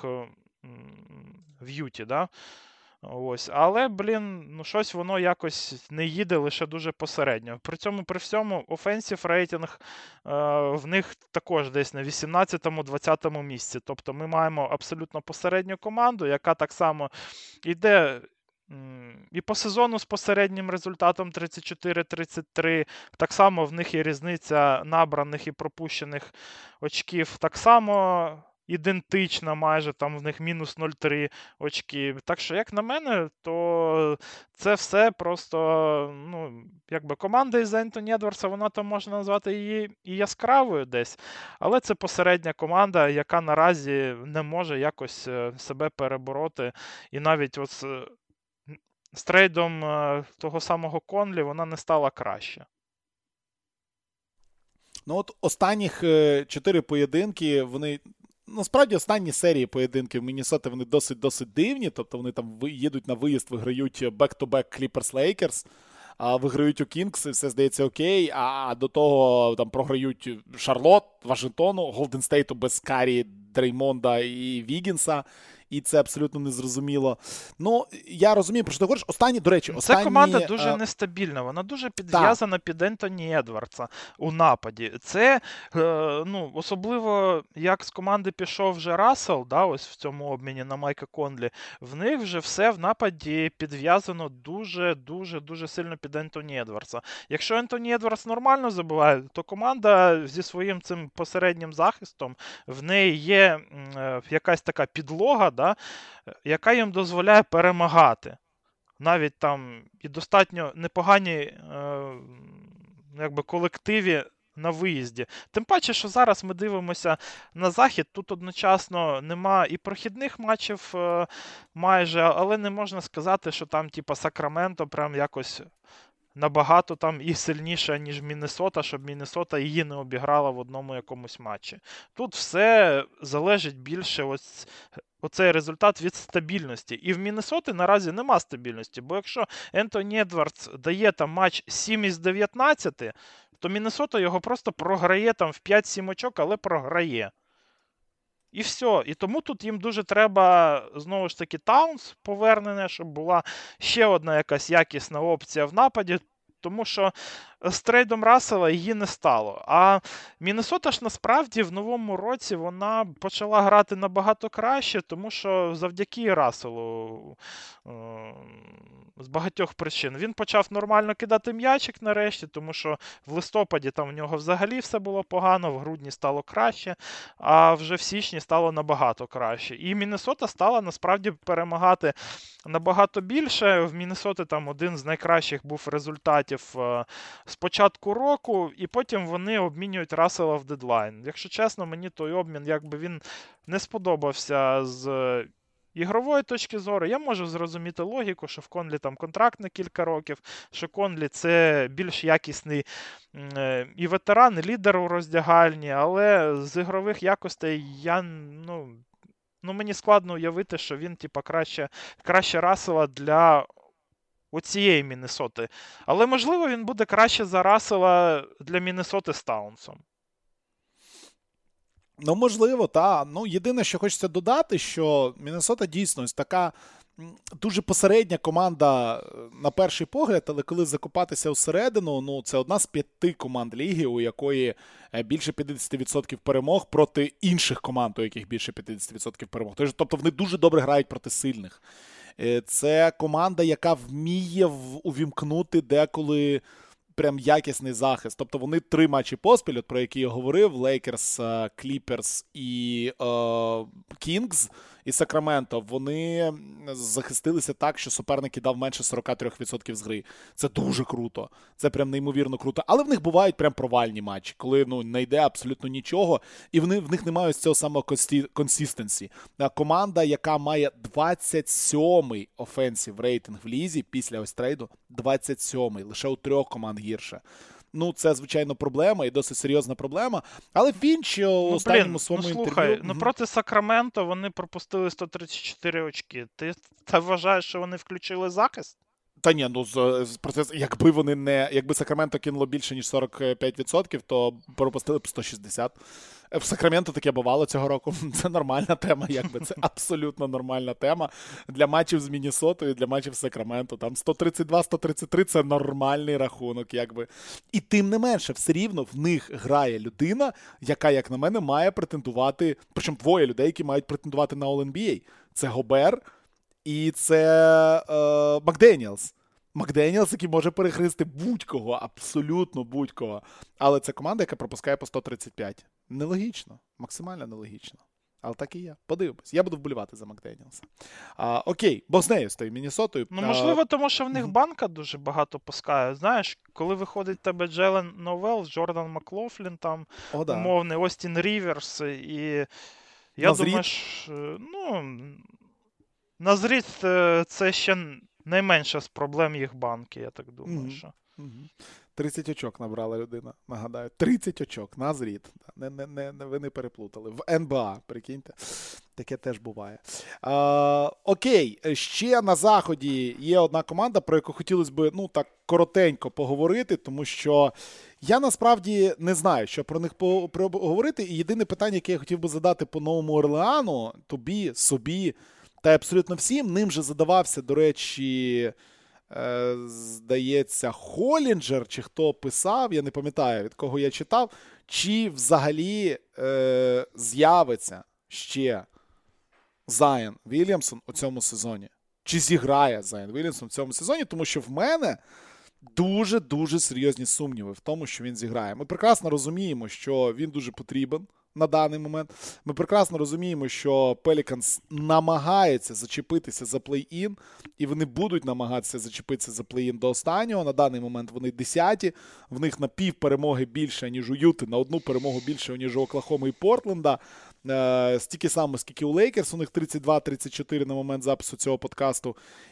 в Юті, да? Ось. Але, блін, ну щось воно якось не їде, лише дуже посередньо. При цьому, при всьому, офенсів рейтинг е, в них також десь на вісімнадцятому-двадцятому місці. Тобто ми маємо абсолютно посередню команду, яка так само йде І по сезону з посереднім результатом тридцять чотири тридцять три. Так само в них є різниця набраних і пропущених очків. Так само ідентична майже, там в них мінус нуль цілих три очки. Так що, як на мене, то це все просто, ну, якби команда із Ентоні Едвардса, вона там можна назвати її і яскравою десь, але це посередня команда, яка наразі не може якось себе перебороти. І навіть ось з трейдом того самого Конлі вона не стала краще. Ну от останніх чотири поєдинки, вони, насправді останні серії поєдинків Міннесоти, вони досить-досить дивні, тобто вони там їдуть на виїзд, виграють back-to-back Clippers-Lakers, а виграють у Кінгс, і все здається окей, а до того там програють Шарлот, Вашингтону, Голден Стейту без Карі, Дреймонда і Вігінса, і це абсолютно незрозуміло. Ну, я розумію, про що ти говориш. Останні, до речі, останні... Ця команда дуже а... нестабільна, вона дуже підв'язана під Ентоні Едвардса у нападі. Це, ну, особливо, як з команди пішов вже Рассел, да, ось в цьому обміні на Майка Конлі, в них вже все в нападі підв'язано дуже-дуже-дуже сильно під Ентоні Едвардса. Якщо Ентоні Едвардс нормально забиває, то команда зі своїм цим посереднім захистом, в неї є якась така підлога, да, яка їм дозволяє перемагати. Навіть там і достатньо непогані е, якби колективі на виїзді. Тим паче, що зараз ми дивимося на захід, тут одночасно нема і прохідних матчів е, майже, але не можна сказати, що там типа Сакраменто прям якось набагато там і сильніша, ніж Міннесота, щоб Міннесота її не обіграла в одному якомусь матчі. Тут все залежить більше ось оцей результат від стабільності. І в Міннесоти наразі нема стабільності, бо якщо Ентоні Едвардс дає там матч сім із дев'ятнадцяти, то Міннесота його просто програє там в п'ять-сім очок, але програє. І все. І тому тут їм дуже треба, знову ж таки, Таунс повернене, щоб була ще одна якась якісна опція в нападі, тому що з трейдом Рассела її не стало. А Міннесота ж насправді в новому році вона почала грати набагато краще, тому що завдяки Расселу е- з багатьох причин. Він почав нормально кидати м'ячик нарешті, тому що в листопаді там в нього взагалі все було погано, в грудні стало краще, а вже в січні стало набагато краще. І Міннесота стала насправді перемагати набагато більше. В Міннесоти там один з найкращих був результатів е- з початку року, і потім вони обмінюють Рассела в дедлайн. Якщо чесно, мені той обмін, якби він не сподобався з ігрової точки зору. Я можу зрозуміти логіку, що в Конлі там контракт на кілька років, що Конлі це більш якісний е, і ветеран, і лідер у роздягальні, але з ігрових якостей я, ну, ну мені складно уявити, що він типа краще, краще Рассела для оцієї Міннесоти. Але, можливо, він буде краще за Рассела для Міннесоти з Таунсом. Ну, можливо, так. Ну, єдине, що хочеться додати, що Міннесота дійсно ось така дуже посередня команда на перший погляд, але коли закопатися всередину, ну, це одна з п'яти команд ліги, у якої більше п'ятдесят відсотків перемог проти інших команд, у яких більше п'ятдесят відсотків перемог. Тобто вони дуже добре грають проти сильних. Це команда, яка вміє увімкнути деколи прям якісний захист. Тобто вони три матчі поспіль, от про які я говорив, Лейкерс, Кліперс і Кінгс, і Сакраменто, вони захистилися так, що суперник дав менше сорок три відсотки з гри. Це дуже круто. Це прям неймовірно круто. Але в них бувають прям провальні матчі, коли ну, не йде абсолютно нічого, і вони, в них немає ось цього самого консистенсі. Команда, яка має двадцять сьомий офенсів рейтинг в лізі після ось трейду, двадцять сьомий, лише у трьох команд гірше. Ну, це, звичайно, проблема, і досить серйозна проблема. Але Фінч у ну, останньому своєму ну, слухай, інтерв'ю... Ну, проти Сакраменто вони пропустили сто тридцять чотири очки. Ти, ти вважаєш, що вони включили захист? Та ні, ну, з, з процес, якби вони не... Якби Сакраменто кинуло більше, ніж сорок п'ять відсотків, то пропустили б сто шістдесят. В Сакраменто таке бувало цього року. Це нормальна тема, якби. Це абсолютно нормальна тема. Для матчів з Міннесотою, для матчів з Сакраменто. Там сто тридцять два - сто тридцять три – це нормальний рахунок, якби. І тим не менше, все рівно в них грає людина, яка, як на мене, має претендувати, причому двоє людей, які мають претендувати на All-ен бі ей. Це Гобер І це е, Макденіелс. Макденіелс, який може перехрести будь-кого, абсолютно будь-кого. Але це команда, яка пропускає по сто тридцять п'ять. Нелогічно, максимально нелогічно. Але так і є. Подивимось. Я буду вболівати за Макденіелса. А, окей, бо з нею, з тою Міннесотою. Ну, можливо, тому що в них банка дуже багато пускає. Знаєш, коли виходить в тебе Джелен Новел, Джордан Маклофлін, там, О, да. умовний, Остін Ріверс, і я Назріт? думаю, що, ну, Назріт це ще найменша з проблем їх банки, я так думаю, Мгм. що. Мгм. тридцять очок набрала людина, нагадаю. тридцять очок, Назріт. Не, не, не, не, ви не переплутали. В ен бе а, прикиньте. Таке теж буває. А, окей, ще на Заході є одна команда, про яку хотілося б, ну, так, коротенько поговорити, тому що я насправді не знаю, що про них поговорити. І єдине питання, яке я хотів би задати по Новому Орлеану, тобі, собі, та абсолютно всім, ним же задавався, до речі, е, здається, Холінджер, чи хто писав, я не пам'ятаю, від кого я читав, чи взагалі е, з'явиться ще Зайон Вільямсон у цьому сезоні. Чи зіграє Зайон Вільямсон у цьому сезоні, тому що в мене дуже-дуже серйозні сумніви в тому, що він зіграє. Ми прекрасно розуміємо, що він дуже потрібен на даний момент. Ми прекрасно розуміємо, що Пеліканс намагається зачепитися за плей-ін, і вони будуть намагатися зачепитися за плей-ін до останнього. На даний момент вони десяті, в них на пів перемоги більше, ніж у Юти, на одну перемогу більше, ніж у Оклахоми і Портленда. Е, стільки само, скільки у Лейкерс, у них тридцять два тридцять чотири на момент запису цього подкасту.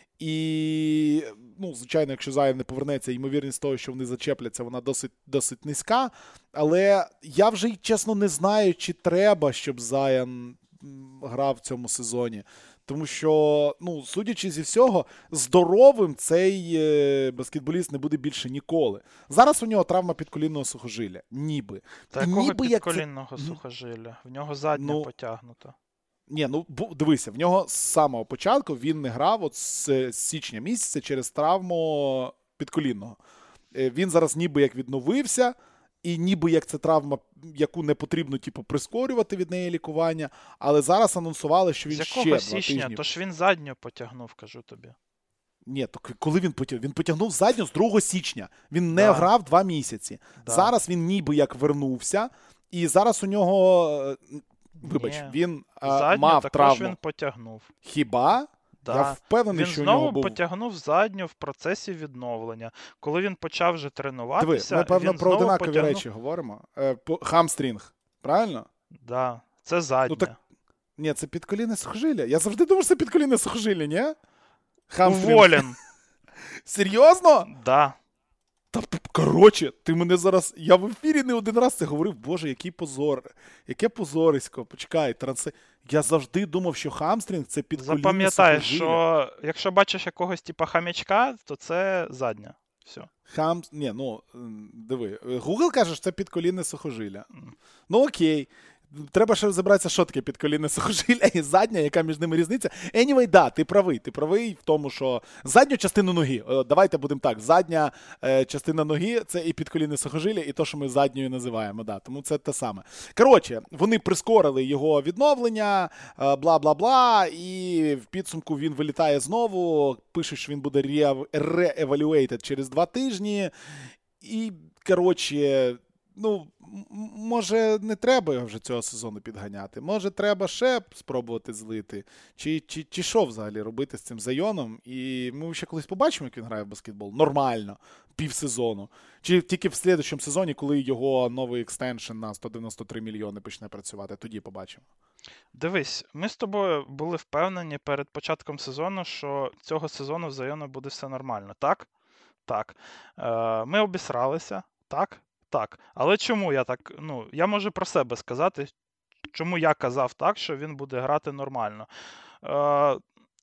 І, ну, звичайно, якщо Зайон не повернеться, ймовірність того, що вони зачепляться, вона досить, досить низька. Але я вже, чесно, не знаю, чи треба, щоб Зайон грав в цьому сезоні. Тому що, ну, судячи зі всього, здоровим цей е, баскетболіст не буде більше ніколи. Зараз у нього травма підколінного сухожилля. Ніби. Та І якого ніби як це- підколінного сухожилля? В нього задня Ну, потягнута. Ні, ну бу- дивися, в нього з самого початку він не грав от з, з січня місяця через травму підколінного. Е, Він зараз ніби як відновився, і ніби як це травма, яку не потрібно типу, прискорювати від неї лікування, але зараз анонсували, що він З ще якого два січня? тижні. Тож він задню потягнув, кажу тобі. Ні, то к- коли він потягнув? Він потягнув задню з другого січня. Він не Да. грав два місяці. Да. Зараз він ніби як вернувся, і зараз у нього, е, вибач, Ні. він е, Задню мав також травму. він потягнув. Хіба? Да. Я впевнений, Він що у нього знову був... потягнув задню в процесі відновлення. Коли він почав вже Диви, тренуватися, ми, певно, він про знову одинакові потягнув... речі говоримо. Е, по- Хамстрінг, правильно? Да. Це задня. так- Ні, це підколінне сухожилля. Я завжди думав, що це підколінне сухожилля, ні? Хамстрінг. Уволен. Серйозно? Да. Та, п- коротше, ти мене зараз... Я в ефірі не один раз це говорив. Боже, який позор. Яке позорисько. Почекай, транси... Я завжди думав, що хамстрінг – це підколінне Запам'ятай, сухожилля. що якщо бачиш якогось типа хам'ячка, то це задня. Все. Хам... Ні, ну, м, диви. Google каже, що це підколінне сухожилля. Ну, окей. Треба ще розібратися, що таке підколінне сухожилля і задня, яка між ними різниця. Anyway, да, ти правий. Ти правий в тому, що задню частину ноги, е, давайте будемо так, задня е, частина ноги – це і підколінне сухожилля, і то, що ми задньою називаємо. Да, тому це те саме. Коротше, вони прискорили його відновлення, е, бла-бла-бла, і в підсумку він вилітає знову, пише, що він буде re-evaluated через два тижні. І, коротше, ну, м- може, не треба його вже цього сезону підганяти. Може, треба ще спробувати злити. Чи, чи, чи що взагалі робити з цим Зайоном? І ми ще колись побачимо, як він грає в баскетбол. Нормально. Півсезону. Чи тільки в слідчому сезоні, коли його новий екстеншн на сто дев'яносто три мільйони почне працювати. Тоді побачимо. Дивись, ми з тобою були впевнені перед початком сезону, що цього сезону в Зайона буде все нормально. Так? Так. Е, ми обісралися. Так? Так. Але чому я так, ну, я можу про себе сказати, чому я казав так, що він буде грати нормально. Е,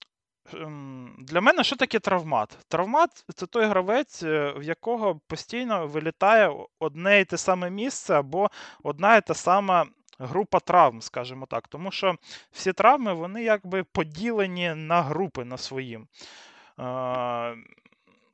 ем, Для мене що таке травмат? Травмат – це той гравець, е, в якого постійно вилітає одне і те саме місце або одна і та сама група травм, скажімо так. Тому що всі травми, вони якби поділені на групи на свої. Е,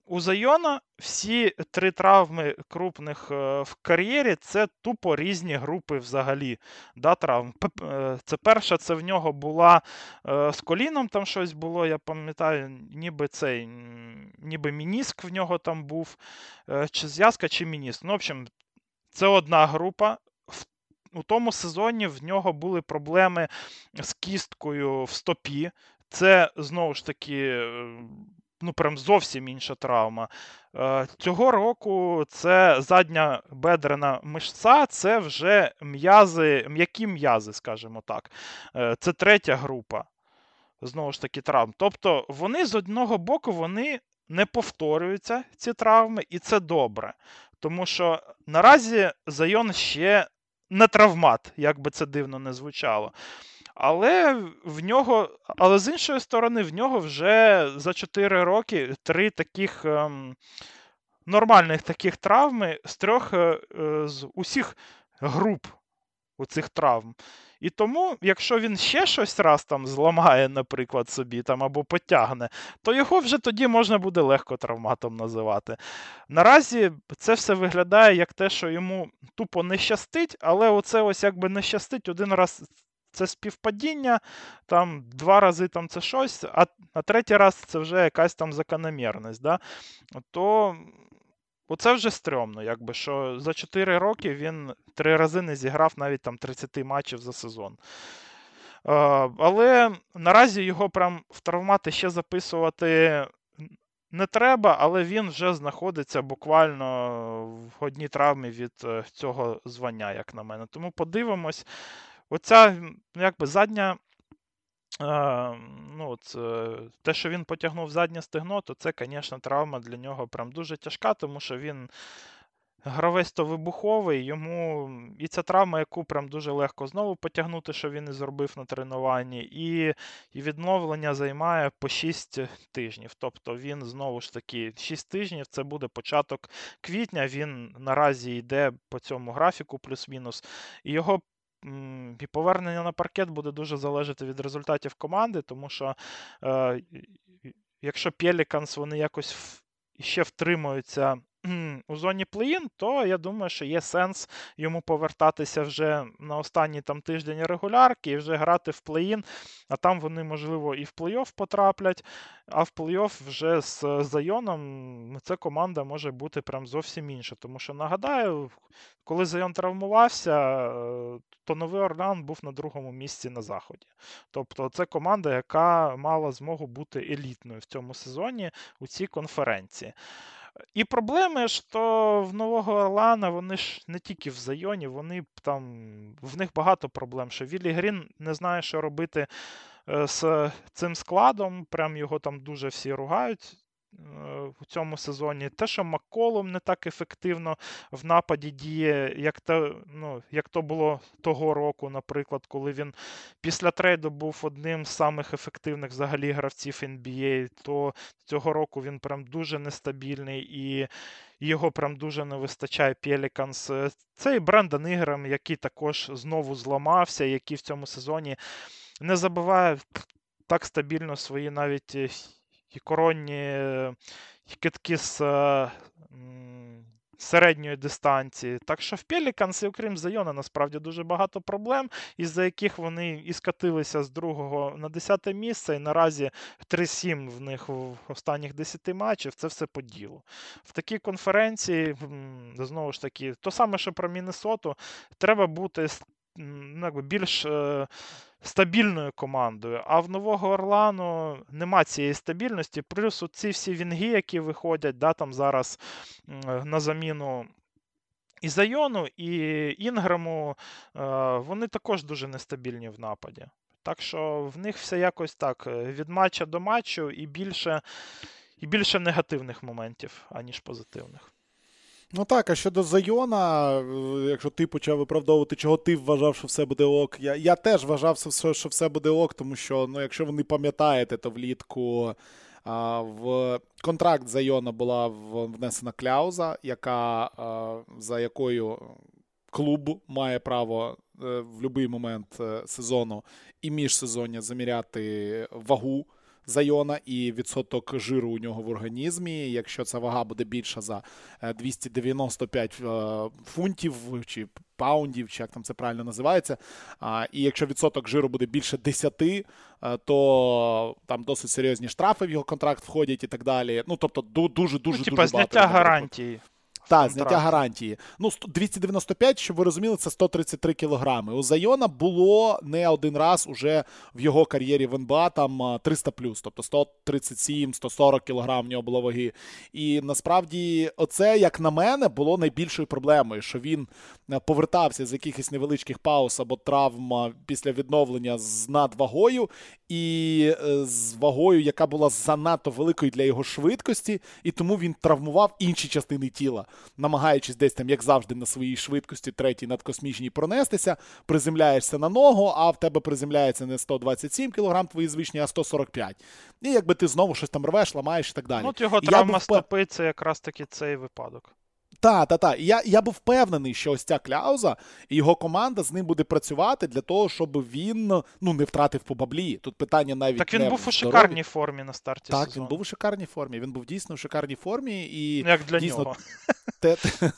у Зайона всі три травми крупних е, в кар'єрі – це тупо різні групи взагалі, да, травм. П- е, Це перша, це в нього була е, з коліном там щось було, я пам'ятаю, ніби цей, м, ніби мініск в нього там був, е, чи зв'язка, чи мініск. Ну, в общем, це одна група. В- У тому сезоні в нього були проблеми з кісткою в стопі. Це, знову ж таки, е, ну, прям зовсім інша травма. Е, Цього року це задня бедрена мишця, це вже м'язи, м'які м'язи, скажімо так. Е, Це третя група, знову ж таки, травм. Тобто вони з одного боку вони не повторюються, ці травми, і це добре. Тому що наразі Зайон ще не травмат, як би це дивно не звучало. Але в нього, але з іншої сторони, в нього вже за чотири роки три таких ем, нормальних таких травми з трьох е, е, з усіх груп у цих травм. І тому, якщо він ще щось раз там зламає, наприклад, собі там або потягне, то його вже тоді можна буде легко травматом називати. Наразі це все виглядає як те, що йому тупо не щастить, але оце ось якби не щастить один раз. Це співпадіння, там два рази там це щось, а, а третій раз це вже якась там закономірність. Да? То оце вже стрьомно, якби, що за чотири роки він три рази не зіграв навіть там тридцять матчів за сезон. Е, але наразі його прям в травмати ще записувати не треба, але він вже знаходиться буквально в одній травмі від е, цього звання, як на мене. Тому подивимось. Оця, якби, задня. Е, ну, от, е, те, що він потягнув заднє стегно, то це, звісно, травма для нього прям дуже тяжка, тому що він гравець то вибуховий, йому і ця травма, яку прям дуже легко знову потягнути, що він і зробив на тренуванні, і, і відновлення займає по шість тижнів. Тобто він знову ж таки шість тижнів, це буде початок квітня, він наразі йде по цьому графіку плюс-мінус, і його і повернення на паркет буде дуже залежати від результатів команди, тому що е, якщо Пеліканс вони якось ще втримуються у зоні плей-ін, то я думаю, що є сенс йому повертатися вже на останній там тиждень регулярки і вже грати в плей-ін, а там вони, можливо, і в плей-офф потраплять, а в плей-офф вже з Зайоном ця команда може бути прям зовсім інша. Тому що, нагадаю, коли Зайон травмувався, то Новий Орлеан був на другому місці на Заході. Тобто це команда, яка мала змогу бути елітною в цьому сезоні у цій конференції. І проблеми ж то в Нового Орлеана, вони ж не тільки в Зайоні, вони там, в них багато проблем, що Віллі Грін не знає, що робити з цим складом, прям його там дуже всі ругають у цьому сезоні. Те, що Макколум не так ефективно в нападі діє, як то, ну, як то було того року, наприклад, коли він після трейду був одним з самих ефективних взагалі гравців ен бі ей, то цього року він прям дуже нестабільний і його прям дуже не вистачає Пеліканс. Це і Брендан Інграм, який також знову зламався, який в цьому сезоні не забиває так стабільно свої навіть і коронні кидки з середньої дистанції. Так що в Пеліканс, окрім Зайона, насправді дуже багато проблем, із-за яких вони і скатилися з другого на десяте місце, і наразі три сім в них в останніх десяти матчів, це все по ділу. В такій конференції, знову ж таки, то саме, що про Міннесоту, треба бути ну, більш стабільною командою, а в Нового Орлеану нема цієї стабільності, плюс ці всі вінги, які виходять, да, там зараз на заміну і Зайону, і Інграму, вони також дуже нестабільні в нападі. Так що в них все якось так, від матча до матчу і більше, і більше негативних моментів, аніж позитивних. Ну так, а щодо Зайона, якщо ти почав виправдовувати, чого ти вважав, що все буде ок, я, я теж вважав, що все буде ок, тому що, ну, якщо ви не пам'ятаєте, то влітку а, в контракт Зайона була внесена кляуза, яка, а, за якою клуб має право в будь-який момент сезону і міжсезоння заміряти вагу Зайона і відсоток жиру у нього в організмі. Якщо ця вага буде більша за двісті дев'яносто п'ять фунтів чи паундів, чи як там це правильно називається, і якщо відсоток жиру буде більше десять, то там досить серйозні штрафи в його контракт входять і так далі. Ну, тобто дуже-дуже-дуже ну, типа, багато. Зняття гарантії. Так, зняття гарантії. Ну, двісті дев'яносто п'ять, щоб ви розуміли, це сто тридцять три кілограми. У Зайона було не один раз уже в його кар'єрі в ен бэ а там триста плюс, тобто сто тридцять сім - сто сорок кілограм в нього було ваги. І насправді оце, як на мене, було найбільшою проблемою, що він повертався з якихось невеличких пауз або травм після відновлення з надвагою і з вагою, яка була занадто великою для його швидкості, і тому він травмував інші частини тіла, намагаючись десь там, як завжди, на своїй швидкості третій надкосмічній пронестися, приземляєшся на ногу, а в тебе приземляється не сто двадцять сім кілограм твої звичні, а сто сорок п'ять. І якби ти знову щось там рвеш, ламаєш і так далі. Ну, от його І травма був... стопи, це якраз таки цей випадок. Так, так, так. Я, я був впевнений, що ось ця кляуза і його команда з ним буде працювати для того, щоб він ну, не втратив по баблі. Тут питання навіть Так він не був у здоров'ї. шикарній формі на старті так, сезону. Так, він був у шикарній формі. Він був дійсно у шикарній формі. І як для дійсно... нього. Те...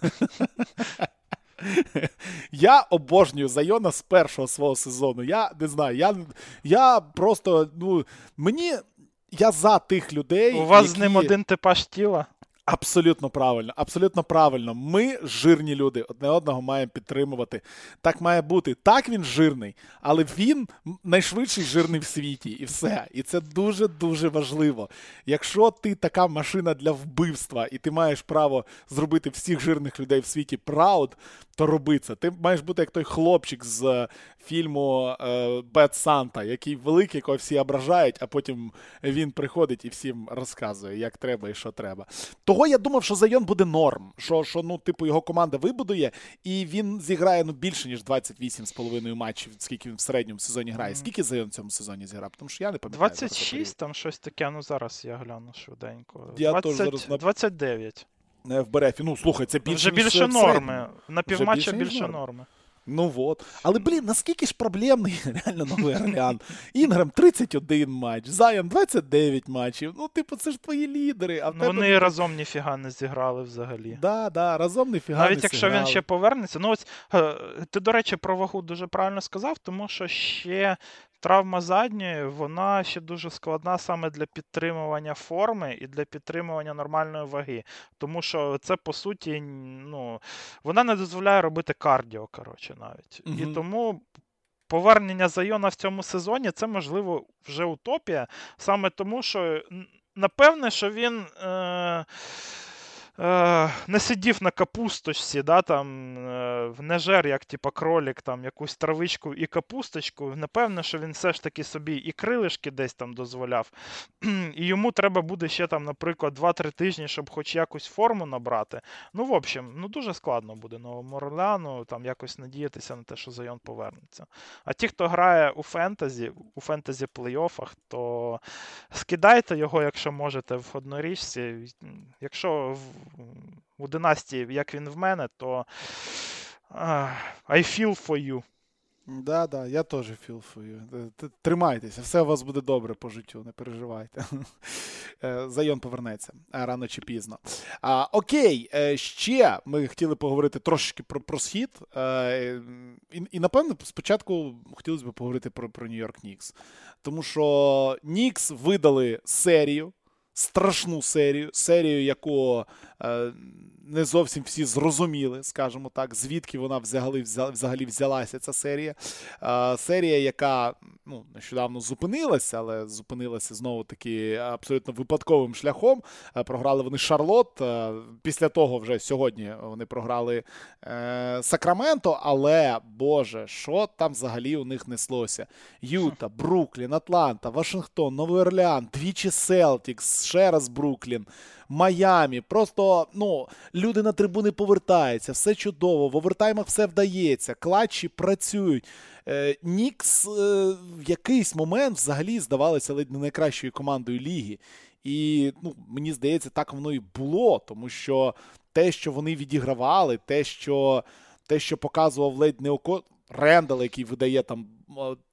Я обожнюю Зайона з першого свого сезону. Я не знаю, я, я просто, ну, мені, я за тих людей, У вас які... з ним один типаж тіла? Абсолютно правильно, абсолютно правильно. Ми, жирні люди, одне одного маємо підтримувати. Так має бути. Так, він жирний, але він найшвидший жирний в світі. І все. І це дуже-дуже важливо. Якщо ти така машина для вбивства, і ти маєш право зробити всіх жирних людей в світі прауд, то роби це. Ти маєш бути як той хлопчик з фільму Бед Санта, який великий, якого всі ображають, а потім він приходить і всім розказує, як треба і що треба. Того я думав, що Зайон буде норм, що, що ну, типу, його команда вибудує, і він зіграє ну, більше, ніж двадцять вісім з половиною матчів, скільки він в середньому сезоні грає. Скільки Зайон в цьому сезоні зіграв? Тому що я не пам'ятаю. двадцять шість, там щось таке, ну зараз я гляну швиденько. Я двадцять, зараз на... двадцять дев'ять. В Берефі. Ну, слухай, це більше, вже більше ніж норми. На півматча більше, більше норми. норми. Ну от. Але, блін, наскільки ж проблемний реально Новий Орлеан. Інграм тридцять один матч, Зайон двадцять дев'ять матчів. Ну, типу, це ж твої лідери. А в ну, тебе... Вони разом ніфіга не зіграли взагалі. Да, да, разом ніфіга Навіть не якщо зіграли. він ще повернеться. Ну, ось, ти, до речі, про вагу дуже правильно сказав, тому що ще травма задньої, вона ще дуже складна саме для підтримування форми і для підтримування нормальної ваги. Тому що це, по суті, ну, вона не дозволяє робити кардіо, коротше, навіть. Угу. І тому повернення Зайона в цьому сезоні, це, можливо, вже утопія. Саме тому, що, напевне, що він... Е- не сидів на капусточці, да, там, не жер, як типа кролік, там, якусь травичку і капусточку. Напевно, що він все ж таки собі і крилишки десь там дозволяв. І йому треба буде ще, там, наприклад, два-три тижні, щоб хоч якусь форму набрати. Ну, в общем, ну, дуже складно буде Новому Орлеану там якось надіятися на те, що Зайон повернеться. А ті, хто грає у фентезі, у фентезі плей-оффах, то скидайте його, якщо можете, в однорічці. Якщо у династії, як він в мене, то uh, I feel for you. Да, да, я теж feel for you. Тримайтеся, все у вас буде добре по життю, не переживайте. Зайон повернеться рано чи пізно. А, окей, ще ми хотіли поговорити трошки про, про схід. І, і, напевно, спочатку хотілося б поговорити про, про Нью-Йорк Нікс. Тому що Нікс видали серію, страшну серію, серію, яку е, не зовсім всі зрозуміли, скажімо так, звідки вона взагалі, взагалі взялася, ця серія. Е, серія, яка ну, нещодавно зупинилася, але зупинилася знову-таки абсолютно випадковим шляхом. Е, програли вони Шарлот, е, після того вже сьогодні вони програли е, Сакраменто, але, боже, що там взагалі у них неслося? Юта, Бруклін, Атланта, Вашингтон, Новий Орлеан, двічі Селтікс, ще раз Бруклін, Майамі. Просто, ну, люди на трибуни повертаються, все чудово, в овертаймах все вдається, клатчі працюють. Е, Нікс е, в якийсь момент взагалі здавалося ледь не найкращою командою ліги. І, ну, мені здається, так воно і було, тому що те, що вони відігравали, те, що, те, що показував ледь не око... Рендал, який видає там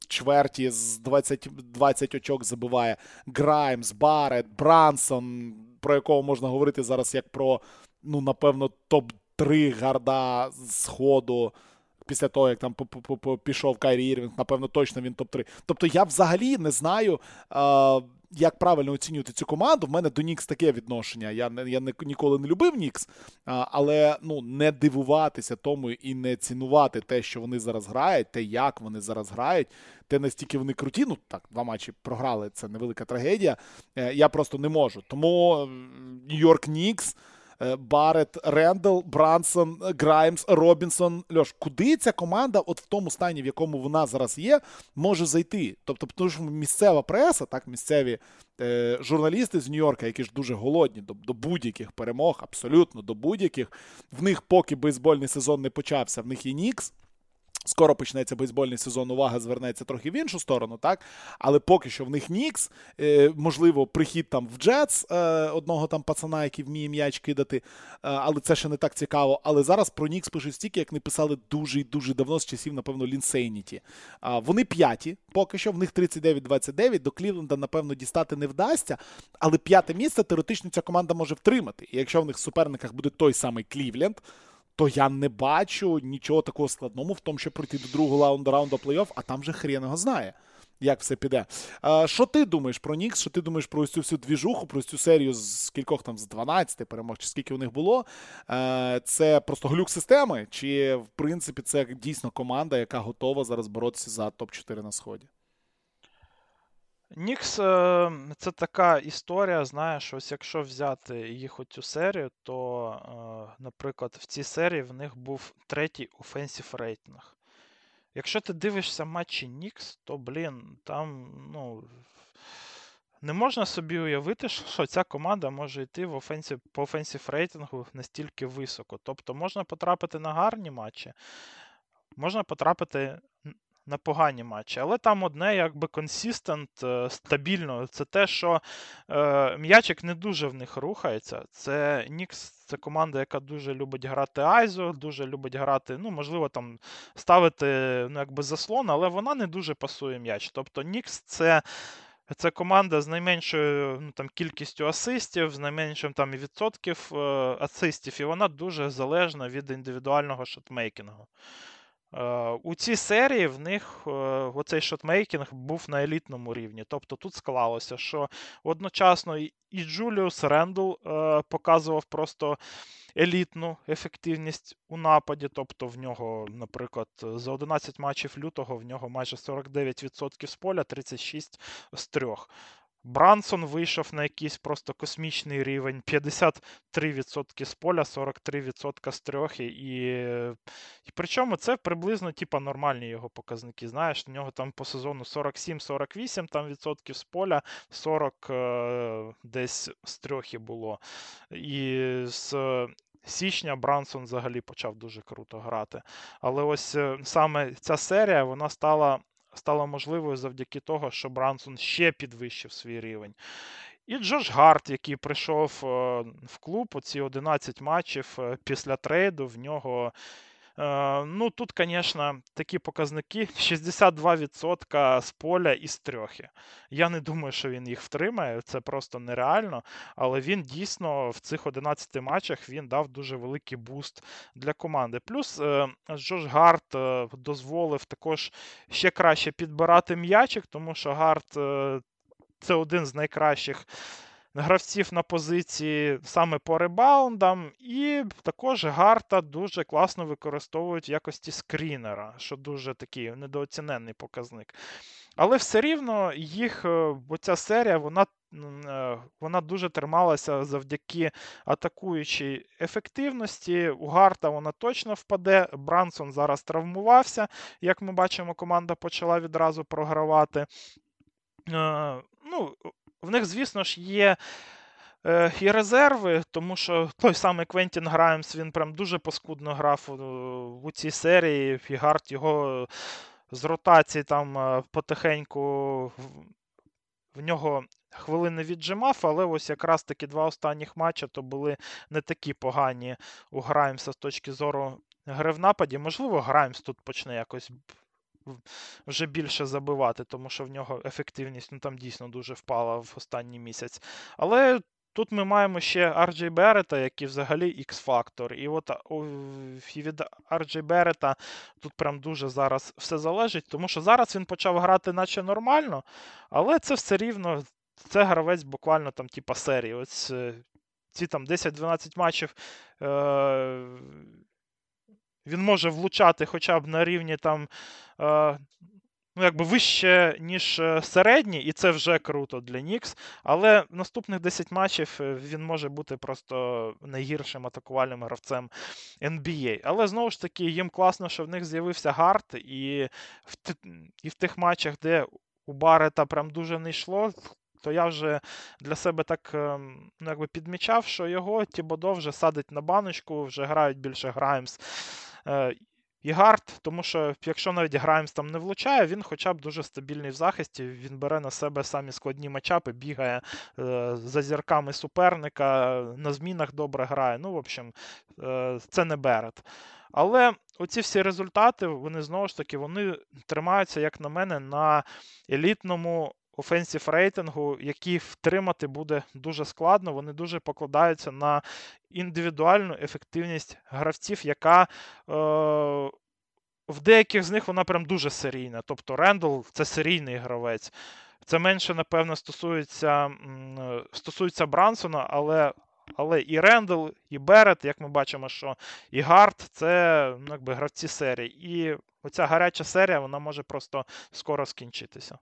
в чверті з двадцять, двадцять очок забиває. Граймс, Барет, Брансон, про якого можна говорити зараз як про, ну, напевно, топ три гарда з ходу. Після того, як там пішов Кайрі Ірвінг, напевно, точно він топ три. Тобто я взагалі не знаю, як правильно оцінювати цю команду. В мене до Нікс таке відношення. Я, я ніколи не любив Нікс, але ну, не дивуватися тому і не цінувати те, що вони зараз грають, те, як вони зараз грають, те, настільки вони круті. Ну, так, два матчі програли, це невелика трагедія. Я просто не можу. Тому Нью-Йорк Нікс, Барет, Рендл, Брансон, Граймс, Робінсон. Льош, куди ця команда от в тому стані, в якому вона зараз є, може зайти? Тобто, тому що місцева преса, так, місцеві е, журналісти з Нью-Йорка, які ж дуже голодні до, до будь-яких перемог, абсолютно до будь-яких. В них поки бейсбольний сезон не почався, в них є Нікс. Скоро почнеться бейсбольний сезон, увага звернеться трохи в іншу сторону, так? Але поки що в них Нікс, е, можливо, прихід там в Джетс, е, одного там пацана, який вміє м'яч кидати, е, але це ще не так цікаво. Але зараз про Нікс пишуть стільки, як не писали дуже і дуже давно, з часів, напевно, Лінсейніті. Е, вони п'яті, поки що, в них тридцять дев'ять двадцять дев'ять, до Клівленда, напевно, дістати не вдасться, але п'яте місце теоретично ця команда може втримати. І якщо в них в суперниках буде той самий Клівленд, то я не бачу нічого такого складного в тому, щоб пройти до другого раунду, раунду плей-офф, а там же хрен його знає, як все піде. А, що ти думаєш про Нікс? Що ти думаєш про ось цю всю двіжуху, про ось цю серію з кількох там, з дванадцяти перемог, чи скільки у них було? А, це просто глюк системи? Чи, в принципі, це дійсно команда, яка готова зараз боротися за топ чотири на Сході? Нікс – це така історія, знаєш, ось якщо взяти їх оцю серію, то, наприклад, в цій серії в них був третій офенсив рейтинг. Якщо ти дивишся матчі Нікс, то, блін, там, ну, не можна собі уявити, що ця команда може йти в офенсив, по офенсив рейтингу настільки високо. Тобто можна потрапити на гарні матчі, можна потрапити на погані матчі. Але там одне, якби, консистент, стабільно. Це те, що е, м'ячик не дуже в них рухається. Це Нікс, це команда, яка дуже любить грати айзо, дуже любить грати, ну, можливо, там, ставити, ну, якби, заслон, але вона не дуже пасує м'яч. Тобто Нікс – це Це команда з найменшою, ну, там, кількістю асистів, з найменшим там відсотків е, асистів, і вона дуже залежна від індивідуального шотмейкінгу. У цій серії в них оцей шотмейкінг був на елітному рівні. Тобто тут склалося, що одночасно і Джуліус Рендл показував просто елітну ефективність у нападі. Тобто в нього, наприклад, за одинадцять матчів лютого в нього майже сорок дев'ять відсотків з поля, тридцять шість з трьох. Брансон вийшов на якийсь просто космічний рівень, п'ятдесят три відсотки з поля, сорок три відсотки з трьох, і, і причому це приблизно типа нормальні його показники, знаєш, у нього там по сезону сорок сім сорок вісім там відсотків з поля, сорок е, десь з трьох і було. І з січня Брансон взагалі почав дуже круто грати. Але ось саме ця серія, вона стала стала можливою завдяки того, що Брансон ще підвищив свій рівень. І Джош Гарт, який прийшов в клуб, оці одинадцять матчів після трейду, в нього, ну, тут, звісно, такі показники, шістдесят два відсотки з поля і з трьохи. Я не думаю, що він їх втримає, це просто нереально, але він дійсно в цих одинадцяти матчах він дав дуже великий буст для команди. Плюс Джош Гарт дозволив також ще краще підбирати м'ячик, тому що Гарт це один з найкращих гравців на позиції саме по ребаундам, і також Гарта дуже класно використовують в якості скрінера, що дуже такий недооцінений показник. Але все рівно їх, оця серія, вона, вона дуже трималася завдяки атакуючій ефективності. У Гарта вона точно впаде. Брансон зараз травмувався. Як ми бачимо, команда почала відразу програвати. Ну, в них, звісно ж, є е, і резерви, тому що той самий Квентін Граймс, він прям дуже паскудно грав у, у цій серії, і Гарт його з ротації там потихеньку в, в нього хвилини віджимав, але ось якраз таки два останніх матчі то були не такі погані у Граймса з точки зору гри в нападі. Можливо, Граймс тут почне якось вже більше забивати, тому що в нього ефективність, ну, там дійсно дуже впала в останній місяць. Але тут ми маємо ще Ар Джей Беррета, який взагалі X-фактор. І от і від Ар Джей Беррета тут прям дуже зараз все залежить, тому що зараз він почав грати наче нормально, але це все рівно, це гравець буквально там типа серії. Ось ці там десять-дванадцять матчів е- він може влучати хоча б на рівні там е- ну, якби вище, ніж середній, і це вже круто для Нікс. Але наступних десять матчів він може бути просто найгіршим атакувальним гравцем ен бі ей. Але, знову ж таки, їм класно, що в них з'явився Гард, і в, т... і в тих матчах, де у Баррета прям дуже не йшло, то я вже для себе так ну, якби підмічав, що його Тібодо вже садить на баночку, вже грають більше Граймс і Гард, тому що якщо навіть Граймс там не влучає, він хоча б дуже стабільний в захисті, він бере на себе самі складні матчапи, бігає е, за зірками суперника, на змінах добре грає. Ну, в общем, е, це не Берет. Але оці всі результати, вони знову ж таки, вони тримаються, як на мене, на елітному офенсів рейтингу, який втримати буде дуже складно. Вони дуже покладаються на індивідуальну ефективність гравців, яка е, в деяких з них вона прям дуже серійна. Тобто Рендл – це серійний гравець. Це менше, напевно, стосується, стосується Брансона, але, але і Рендл, і Берет, як ми бачимо, що і Гард – це ну, якби гравці серії. І оця гаряча серія, вона може просто скоро скінчитися.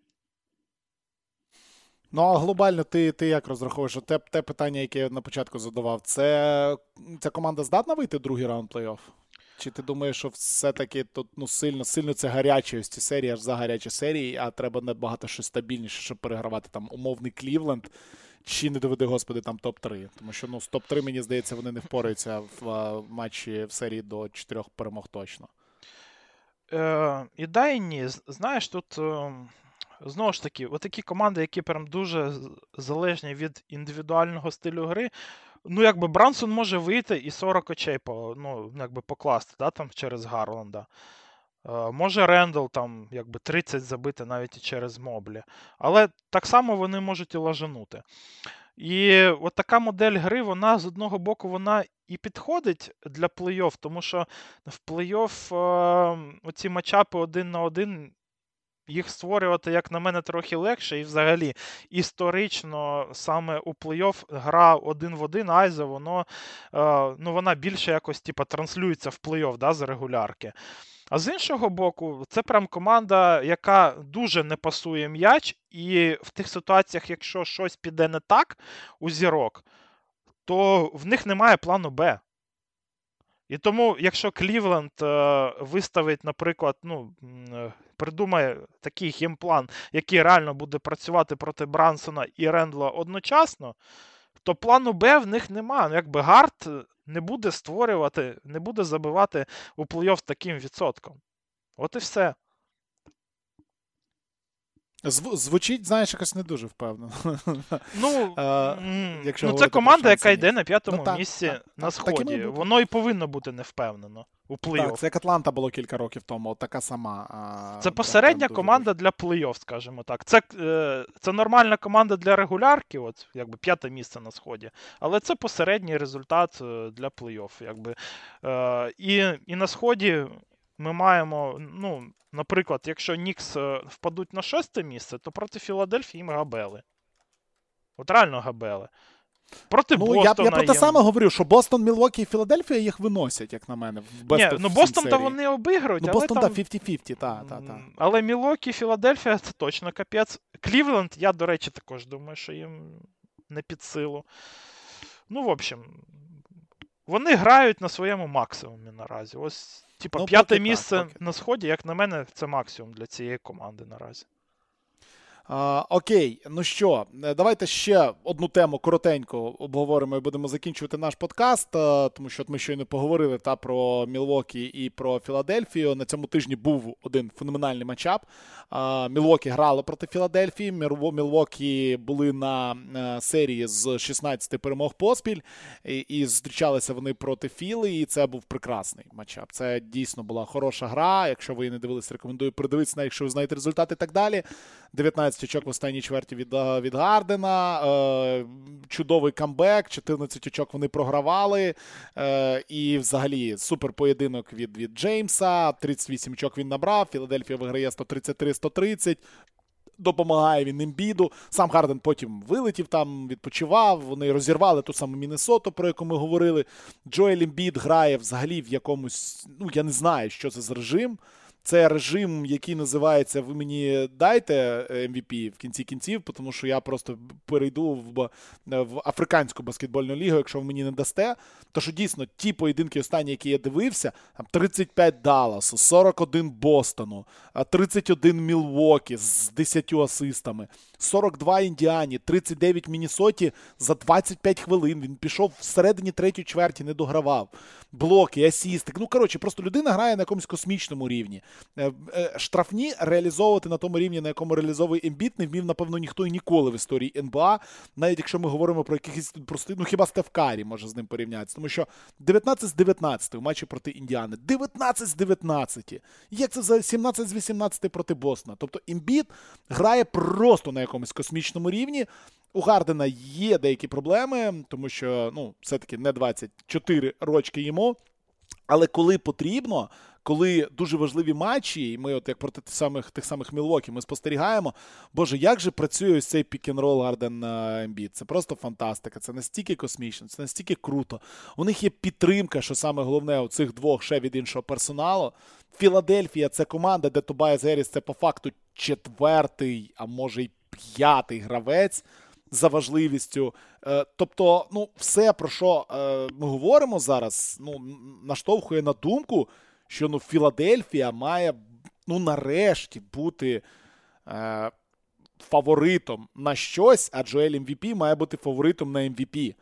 Ну, а глобально ти, ти як розраховуєш? Те, те питання, яке я на початку задавав, це ця команда здатна вийти в другий раунд плей-офф? Чи ти думаєш, що все-таки тут ну, сильно, сильно це гарячі ось ці серії, аж за гарячі серії, а треба набагато щось стабільніше, щоб перегравати там умовний Клівленд, чи не доведи, господи, там топ три? Тому що ну, з топ три, мені здається, вони не впораються в а, матчі в серії до чотирьох перемог точно. Е, і да, і ні. Знаєш, тут... Е... Знову ж таки, отакі команди, які прям дуже залежні від індивідуального стилю гри, ну, якби Брансон може вийти і сорок очей по, ну, якби покласти, да, там, через Гарланда. Е, може Рендл там, якби тридцять забити навіть і через Моблі. Але так само вони можуть і лажанути. І от така модель гри, вона з одного боку, вона і підходить для плей-офф, тому що в плей-офф е, оці матчапи один на один, їх створювати, як на мене, трохи легше. І взагалі історично саме у плей-офф гра один в один Айзо, воно, е, ну, вона більше якось типу, транслюється в плей-офф, да, з регулярки. А з іншого боку, це прям команда, яка дуже не пасує м'яч, і в тих ситуаціях, якщо щось піде не так у зірок, то в них немає плану Б. І тому, якщо Клівленд е, виставить, наприклад, ну, е, придумає такий геймплан, який реально буде працювати проти Брансона і Рендла одночасно, то плану Б в них нема. Ну, якби Гард не буде створювати, не буде забивати у плей-офф таким відсотком. От і все. Зв- звучить, знаєш, якось не дуже впевнено. Ну, а, ну це команда, яка йде на п'ятому ну, так, місці так, на так, сході. Так воно і повинно бути невпевнено у плей-офф. Так, це як Атланта було кілька років тому, така сама. А, це посередня дуже, команда дуже. Для плей-офф, скажімо так. Це, е, це нормальна команда для регулярки, от, якби п'яте місце на сході, але це посередній результат для плей-офф. Якби. Е, і, і на сході ми маємо, ну, наприклад, якщо Нікс впадуть на шосте місце, то проти Філадельфії їм габели. От реально габели. Проти ну, Бостона. Я, я про те їм... саме говорю, що Бостон, Мілвокі і Філадельфія їх виносять, як на мене. В Ні, ну Бостон-то вони обігрують. Ну, але Бостон, там... так, п'ятдесят на п'ятдесят, так, так, так. Але Мілвокі і Філадельфія це точно капець. Клівленд, я, до речі, також думаю, що їм не під силу. Ну, в общем, вони грають на своєму максимумі наразі. Ось, типа, ну, п'яте місце так, на сході, як на мене, це максимум для цієї команди наразі. А, окей, ну що, давайте ще одну тему коротенько обговоримо і будемо закінчувати наш подкаст, а, тому що от ми щойно поговорили та про Мілвокі і про Філадельфію. На цьому тижні був один феноменальний матчап. А, Мілвокі грали проти Філадельфії, Мілвокі були на а, серії з шістнадцяти перемог поспіль, і, і зустрічалися вони проти Філи, і це був прекрасний матчап. Це дійсно була хороша гра. Якщо ви не дивились, рекомендую передивитися, якщо ви знаєте результати і так далі. дев'ятнадцять очок в останній чверті від, від Гардена, е, чудовий камбек, чотирнадцять очок вони програвали, е, і взагалі супер поєдинок від, від Джеймса, тридцять вісім очок він набрав, Філадельфія виграє сто тридцять три сто тридцять, допомагає він Ембіду, сам Гарден потім вилетів там, відпочивав, вони розірвали ту саму Міннесоту, про яку ми говорили. Джоель Ембід грає взагалі в якомусь, ну я не знаю, що це за режим. Це режим, який називається «Ви мені дайте Ем Ві Пі» в кінці кінців, тому що я просто перейду в, в африканську баскетбольну лігу, якщо ви мені не дасте. То що дійсно ті поєдинки останні, які я дивився, там тридцять п'ять Далласу, сорок один Бостону, тридцять один Мілвокі з десятьма асистами, сорок два Індіані, тридцять дев'ять Міннесоті за двадцять п'ять хвилин. Він пішов всередині третьої чверті, не догравав. Блоки, асісти. Ну, коротше, просто людина грає на якомусь космічному рівні. Штрафні реалізовувати на тому рівні, на якому реалізовує Ембіт, не вмів, напевно, ніхто і ніколи в історії Ен Бі А, навіть якщо ми говоримо про якихось прости, ну хіба Стеф Карі може з ним порівнятися, тому що дев'ятнадцять з дев'ятнадцяти в матчі проти Індіани, дев'ятнадцять з дев'ятнадцяти, як це за сімнадцять з вісімнадцяти проти Бостона, тобто Ембіт грає просто на якомусь космічному рівні. У Гардена є деякі проблеми, тому що, ну, все-таки не двадцять чотири рочки йому, але коли потрібно, коли дуже важливі матчі, і ми от як проти тих самих, тих самих Мілвокі, ми спостерігаємо, боже, як же працює ось цей пік-н-рол Гарден-Ембіт. Це просто фантастика, це настільки космічно, це настільки круто. У них є підтримка, що саме головне у цих двох ще від іншого персоналу. Філадельфія – це команда, де Тобайас Герріс – це по факту четвертий, а може й п'ятий гравець за важливістю. Тобто, ну, все, про що ми говоримо зараз, ну, наштовхує на думку, що, ну, Філадельфія має, ну, нарешті бути е, фаворитом на щось, а Джоель Ем Ві Пі має бути фаворитом на Ем Ві Пі.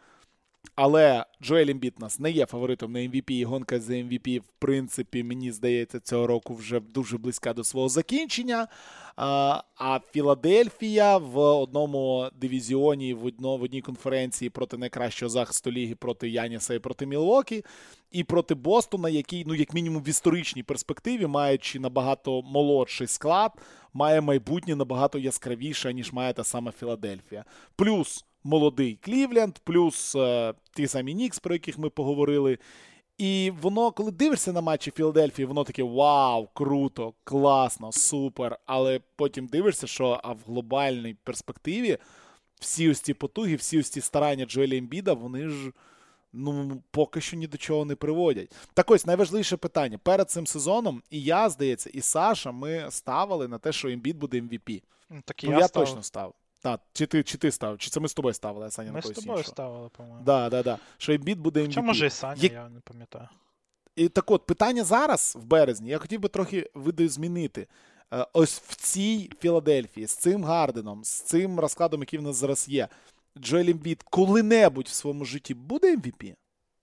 Але Джоель Ембіт нас не є фаворитом на Ем Ві Пі, і гонка за Ем Ві Пі, в принципі, мені здається, цього року вже дуже близька до свого закінчення. А, а Філадельфія в одному дивізіоні, в, одно, в одній конференції проти найкращого захисту ліги, проти Яніса і проти Мілвокі, і проти Бостона, який, ну, як мінімум в історичній перспективі, маючи набагато молодший склад, має майбутнє набагато яскравіше, ніж має та сама Філадельфія. Плюс молодий Клівленд, плюс е, ті самі Нікс, про яких ми поговорили. І воно, коли дивишся на матчі Філадельфії, воно таке вау, круто, класно, супер. Але потім дивишся, що а в глобальній перспективі всі ось ці потуги, всі ось ці старання Джоеля Ембіда, вони ж, ну, поки що ні до чого не приводять. Так ось, найважливіше питання. Перед цим сезоном і я, здається, і Саша, ми ставили на те, що Ембід буде Ем Ві Пі. Так ну, я, я став... точно став. Так, чи ти, чи ти став? Чи це ми з тобою ставили, а Саня ми на когось з тобою іншого? ставили, по-моєму. Да, да, да. Що Ембіт буде Ем Ві Пі. Хоча, може, і Саня, Як... я не пам'ятаю. І так от, питання зараз, в березні, я хотів би трохи видозмінити. Ось в цій Філадельфії, з цим Гарденом, з цим розкладом, який в нас зараз є, Джоель Ембіт коли-небудь в своєму житті буде Ем Ві Пі?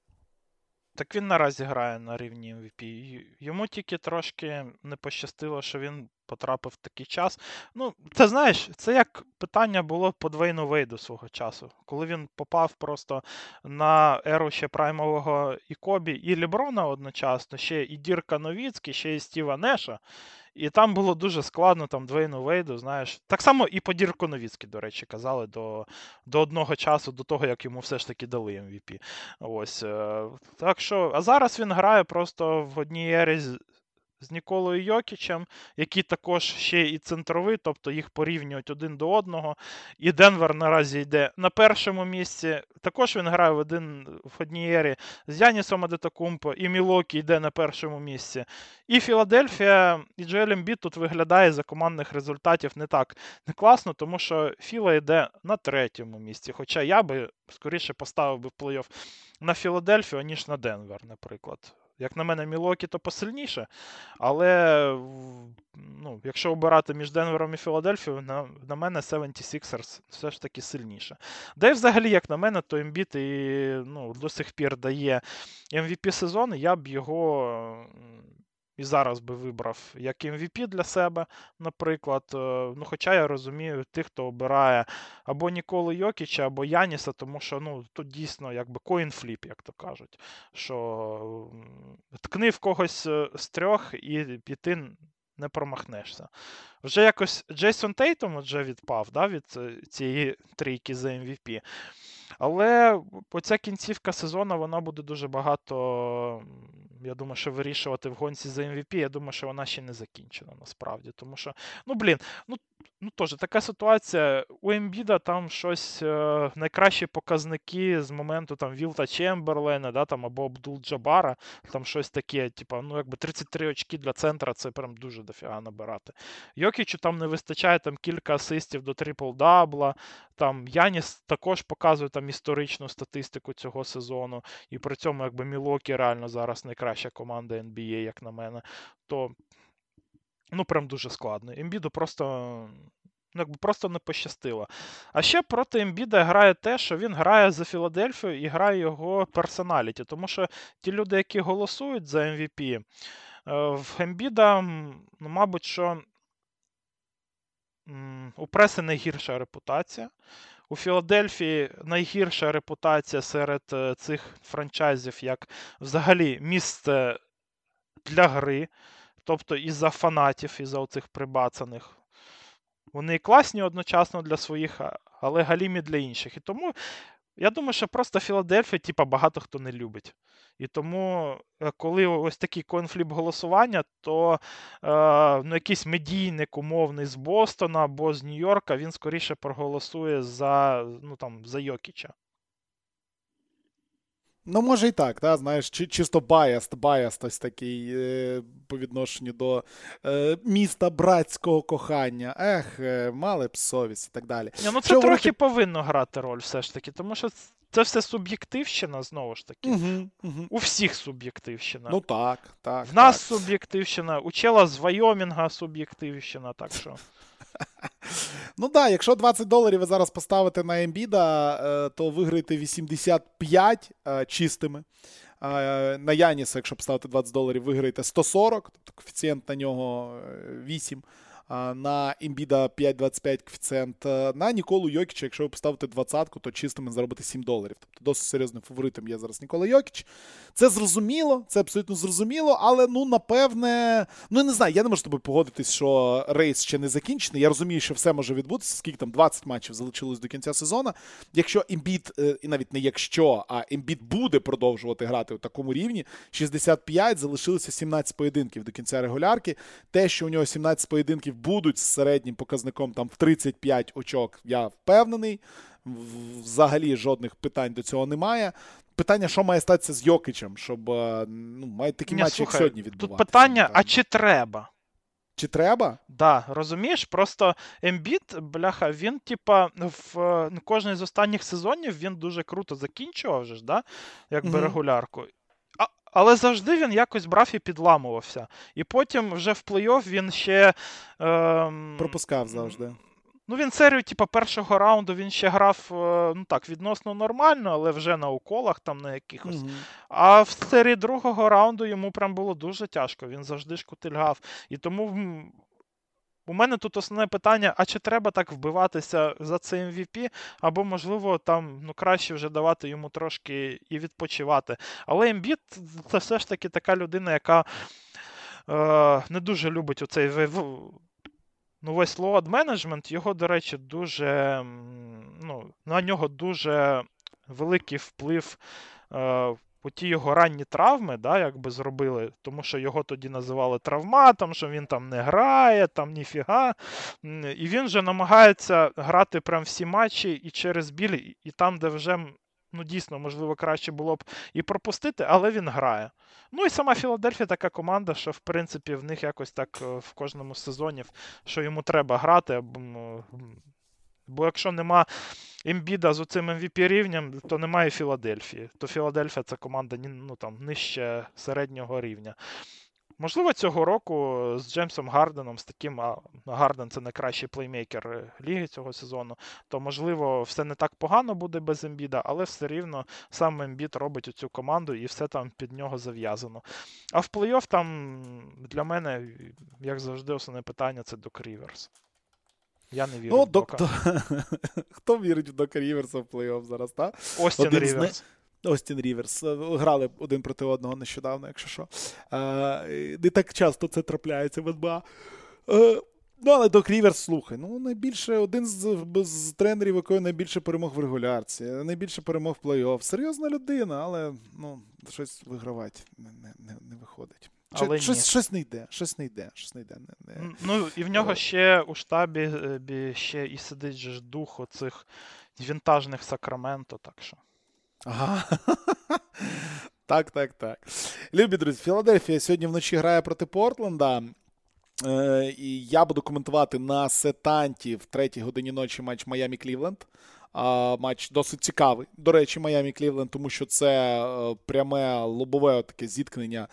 Так він наразі грає на рівні Ем Ві Пі. Йому тільки трошки не пощастило, що він потрапив в такий час. Ну, це, знаєш, це як питання було по Двейну Вейду свого часу. Коли він попав просто на еру ще праймового і Кобі, і Леброна одночасно, ще і Дірка Новіцький, ще і Стіва Неша. І там було дуже складно там Двейну Вейду, знаєш. Так само і по Дірку Новіцький, до речі, казали до, до одного часу, до того, як йому все ж таки дали Ем Ві Пі. Ось. Так що, а зараз він грає просто в одній ері з, з Ніколою Йокічем, який також ще і центровий, тобто їх порівнюють один до одного. І Денвер наразі йде на першому місці. Також він грає в, один, в одній ері з Янісом Адетокумпо, і Мілокі йде на першому місці. І Філадельфія, і Джоель Ембіт тут виглядає за командних результатів не так не класно, тому що Філа йде на третьому місці. Хоча я би скоріше поставив би в плей-офф на Філадельфію, ніж на Денвер, наприклад. Як на мене, Мілуокі то посильніше, але ну, якщо обирати між Денвером і Філадельфією, на, на мене севенті сіксерс все ж таки сильніше. Да і взагалі, як на мене, то Ембіт і ну, до сих пір дає ем ві пі сезону, я б його і зараз би вибрав як ем ві пі для себе, наприклад. Ну, хоча я розумію тих, хто обирає або Ніколу Йокіча, або Яніса, тому що ну, тут дійсно якби коін-фліп, як то кажуть. Що ткни в когось з трьох і, і ти не промахнешся. Вже якось Джейсон Тейтум вже відпав, да, від цієї трійки за ем ві пі. Але оця кінцівка сезону, вона буде дуже багато, я думаю, що вирішувати в гонці за ем ві пі. Я думаю, що вона ще не закінчена, насправді. Тому що, ну, блін, ну, ну теж така ситуація. У Ембіда там щось, е, найкращі показники з моменту там Вілта Чемберлена, да, там, або Абдул-Джабара, там щось таке, типу, ну, якби тридцять три очки для центра, це прям дуже дофіга набирати. Йокічу там не вистачає там кілька асистів до трипл-дабла, там Яніс також показує там історичну статистику цього сезону, і при цьому якби Мілуокі реально зараз найкраща команда ен бі ей, як на мене, то ну прям дуже складно. Ембіду просто, ну, якби просто не пощастило. А ще проти Ембіда грає те, що він грає за Філадельфію і грає його персоналіті, тому що ті люди, які голосують за ем ві пі, в Ембіда, ну, мабуть, що у преси найгірша репутація. У Філадельфії найгірша репутація серед цих франчайзів, як взагалі місце для гри, тобто із-за фанатів, із-за оцих прибацаних. Вони класні одночасно для своїх, але галімі для інших. І тому я думаю, що просто Філадельфія, типа, багато хто не любить. І тому, коли ось такий конфлікт голосування, то е, ну, якийсь медійник умовний з Бостона або з Нью-Йорка, він скоріше проголосує за, ну, там, за Йокіча. Ну, може і так, та, знаєш, чи, чисто баяст, баяст ось такий е, по відношенню до е, міста братського кохання. Ех, е, мали б совість і так далі. Не, ну це Що трохи говорити... повинно грати роль все ж таки, тому що це все суб'єктивщина, знову ж таки. Угу, угу. У всіх суб'єктивщина. Ну так, так. В нас так. суб'єктивщина, у чела з Вайомінга суб'єктивщина, так що... Ну так, якщо двадцять доларів ви зараз поставите на Ембіда, то виграєте вісімдесят п'ять чистими. На Яніса, якщо поставити двадцять доларів, виграєте сто сорок, тобто коефіцієнт на нього вісім. На Ембіда п'ять двадцять п'ять коефіцієнт. На Ніколу Йокіча, якщо ви поставите двадцятку, то чистими заробите сім доларів. Тобто досить серйозним фаворитом є зараз Нікола Йокіч. Це зрозуміло, це абсолютно зрозуміло, але, ну, напевне, ну, не знаю, я не можу з тобою погодитись, що рейс ще не закінчений. Я розумію, що все може відбутися, скільки там двадцять матчів залишилось до кінця сезону. Якщо Ембід, і навіть не якщо, а Ембід буде продовжувати грати у такому рівні, шістдесят п'ять, залишилося сімнадцять поєдинків до кінця регулярки. Те, що у нього сімнадцять поєдинків будуть з середнім показником там в тридцять п'ять очок, я впевнений. Взагалі жодних питань до цього немає. Питання, що має статися з Йокичем, щоб, ну, мають такі Ні, матчі, слухай, як сьогодні відбуватися. Тут питання, а чи треба? Чи треба? Да, розумієш, просто Ембіт, бляха, він, типа, в кожній з останніх сезонів він дуже круто закінчував же ж, да? Якби mm-hmm. регулярку. Але завжди він якось брав і підламувався. І потім вже в плей-офф він ще... Ем... Пропускав завжди. Ну, він серію, типу, першого раунду він ще грав, ну так, відносно нормально, але вже на уколах там на якихось. Mm-hmm. А в серії другого раунду йому прям було дуже тяжко. Він завжди шкутильгав. І тому у мене тут основне питання, а чи треба так вбиватися за цей ем ві пі, або, можливо, там, ну, краще вже давати йому трошки і відпочивати. Але Ембіт – це все ж таки така людина, яка е, не дуже любить оцей ну, весь load management. Його, до речі, дуже, ну, на нього дуже великий вплив е, у ті його ранні травми, да, якби зробили, тому що його тоді називали травматом, що він там не грає, там ніфіга. І він же намагається грати прям всі матчі і через біль, і там, де вже, ну, дійсно, можливо, краще було б і пропустити, але він грає. Ну і сама Філадельфія така команда, що, в принципі, в них якось так в кожному сезоні, що йому треба грати, бо якщо нема Ембіда з оцим ем ві пі рівнем, то немає Філадельфії. То Філадельфія – це команда ну, там, нижче середнього рівня. Можливо, цього року з Джеймсом Гарденом, з таким, а Гарден – це найкращий плеймейкер ліги цього сезону, то, можливо, все не так погано буде без Ембіда, але все рівно сам Ембід робить оцю команду і все там під нього зав'язано. А в плей-офф там для мене, як завжди, основне питання – це Док Ріверс. Я не вірю ну, в Дока. Док... Хто вірить в Дока Ріверса в плей-офф зараз, так? Остін Один Ріверс. Не... Остін Ріверс. Грали один проти одного нещодавно, якщо що. Не так часто це трапляється в ен бі ей. Ну, але Док Ріверс, слухай, ну, найбільше, один з, з тренерів, якої найбільше перемог в регулярці, найбільше перемог в плей-офф. Серйозна людина, але, ну, щось вигравати не, не, не виходить. Але щось, щось не йде, щось не йде, щось не йде. Не, не. Ну, і в нього ще у штабі ще і сидить же ж дух оцих вінтажних Сакраменто, так що. Ага. Так, так, так. Любі друзі, Філадельфія сьогодні вночі грає проти Портленда. Е, і я буду коментувати на сетанті в третій годині ночі матч Майамі-Клівленд. Е, матч досить цікавий. До речі, Майамі-Клівленд, тому що це е, пряме лобове таке зіткнення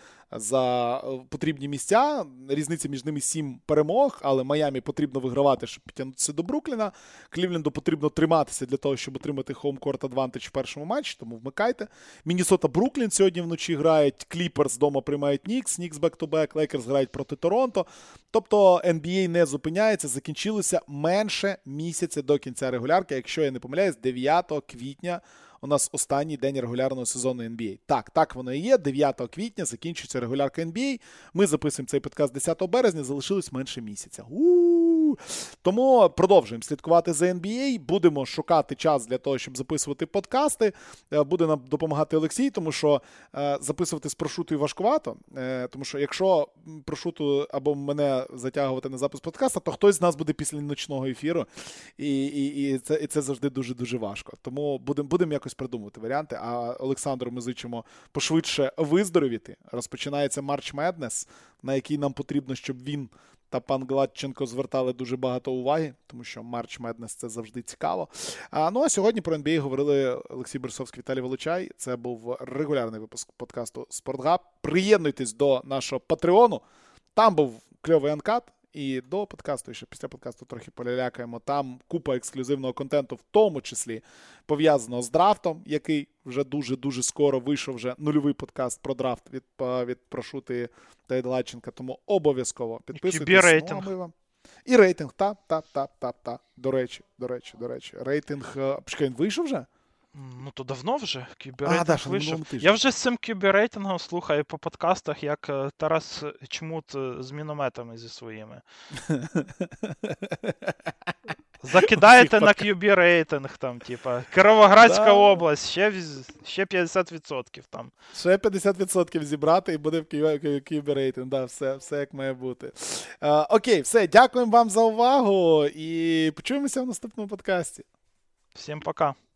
за потрібні місця. Різниця між ними сім перемог, але Майамі потрібно вигравати, щоб підтягнутися до Брукліна. Клівленду потрібно триматися для того, щоб отримати home-court advantage в першому матчі, тому вмикайте. Міннесота-Бруклін сьогодні вночі грають, Кліперс вдома приймають Нікс, Нікс бек-ту-бек, Лейкерс грають проти Торонто. Тобто ен бі ей не зупиняється, закінчилося менше місяця до кінця регулярки, якщо я не помиляюсь, дев'ятого квітня у нас останній день регулярного сезону ен бі ей. Так, так воно і є. дев'ятого квітня закінчується регулярка ен бі ей. Ми записуємо цей подкаст десятого березня, залишилось менше місяця. У-у-у! Тому продовжуємо слідкувати за ен бі ей, будемо шукати час для того, щоб записувати подкасти. Буде нам допомагати Олексій, тому що е, записувати з прошутою важкувато, е, тому що якщо прошуту або мене затягувати на запис подкаста, то хтось з нас буде після ночного ефіру, і, і, і, це, і це завжди дуже-дуже важко. Тому будемо будем якось придумувати варіанти, а Олександру ми зичимо пошвидше виздоровіти. Розпочинається March Madness, на який нам потрібно, щоб він та пан Гладченко звертали дуже багато уваги, тому що March Madness – це завжди цікаво. А, ну а сьогодні про ен бі ей говорили Олексій Берсовський, Віталій Волочай. Це був регулярний випуск подкасту «Спортгаб». Приєднуйтесь до нашого Патреону. Там був кльовий анкат. І до подкасту, і ще після подкасту трохи полялякаємо. Там купа ексклюзивного контенту, в тому числі пов'язаного з драфтом, який вже дуже-дуже скоро вийшов, вже нульовий подкаст про драфт від, від Прошути та Єдлаченка. Тому обов'язково підписуйтесь. І рейтинг. Ну, вам... І рейтинг, та, та, та, та, та. До речі, до речі, до речі. Рейтинг, почекай, він вийшов вже? Ну, то давно вже кюбі-рейтинг а, да, вийшов. Я вже з цим кюбі-рейтингом слухаю по подкастах, як Тарас Чмут з мінометами зі своїми. Закидаєте на кюбі-рейтинг, там, типа, Кіровоградська да. область, ще, ще п'ятдесят відсотків там. Ще п'ятдесят відсотків зібрати і буде в кюбі-рейтинг, да, все, все як має бути. А, окей, все, дякуємо вам за увагу і почуємося в наступному подкасті. Всім пока.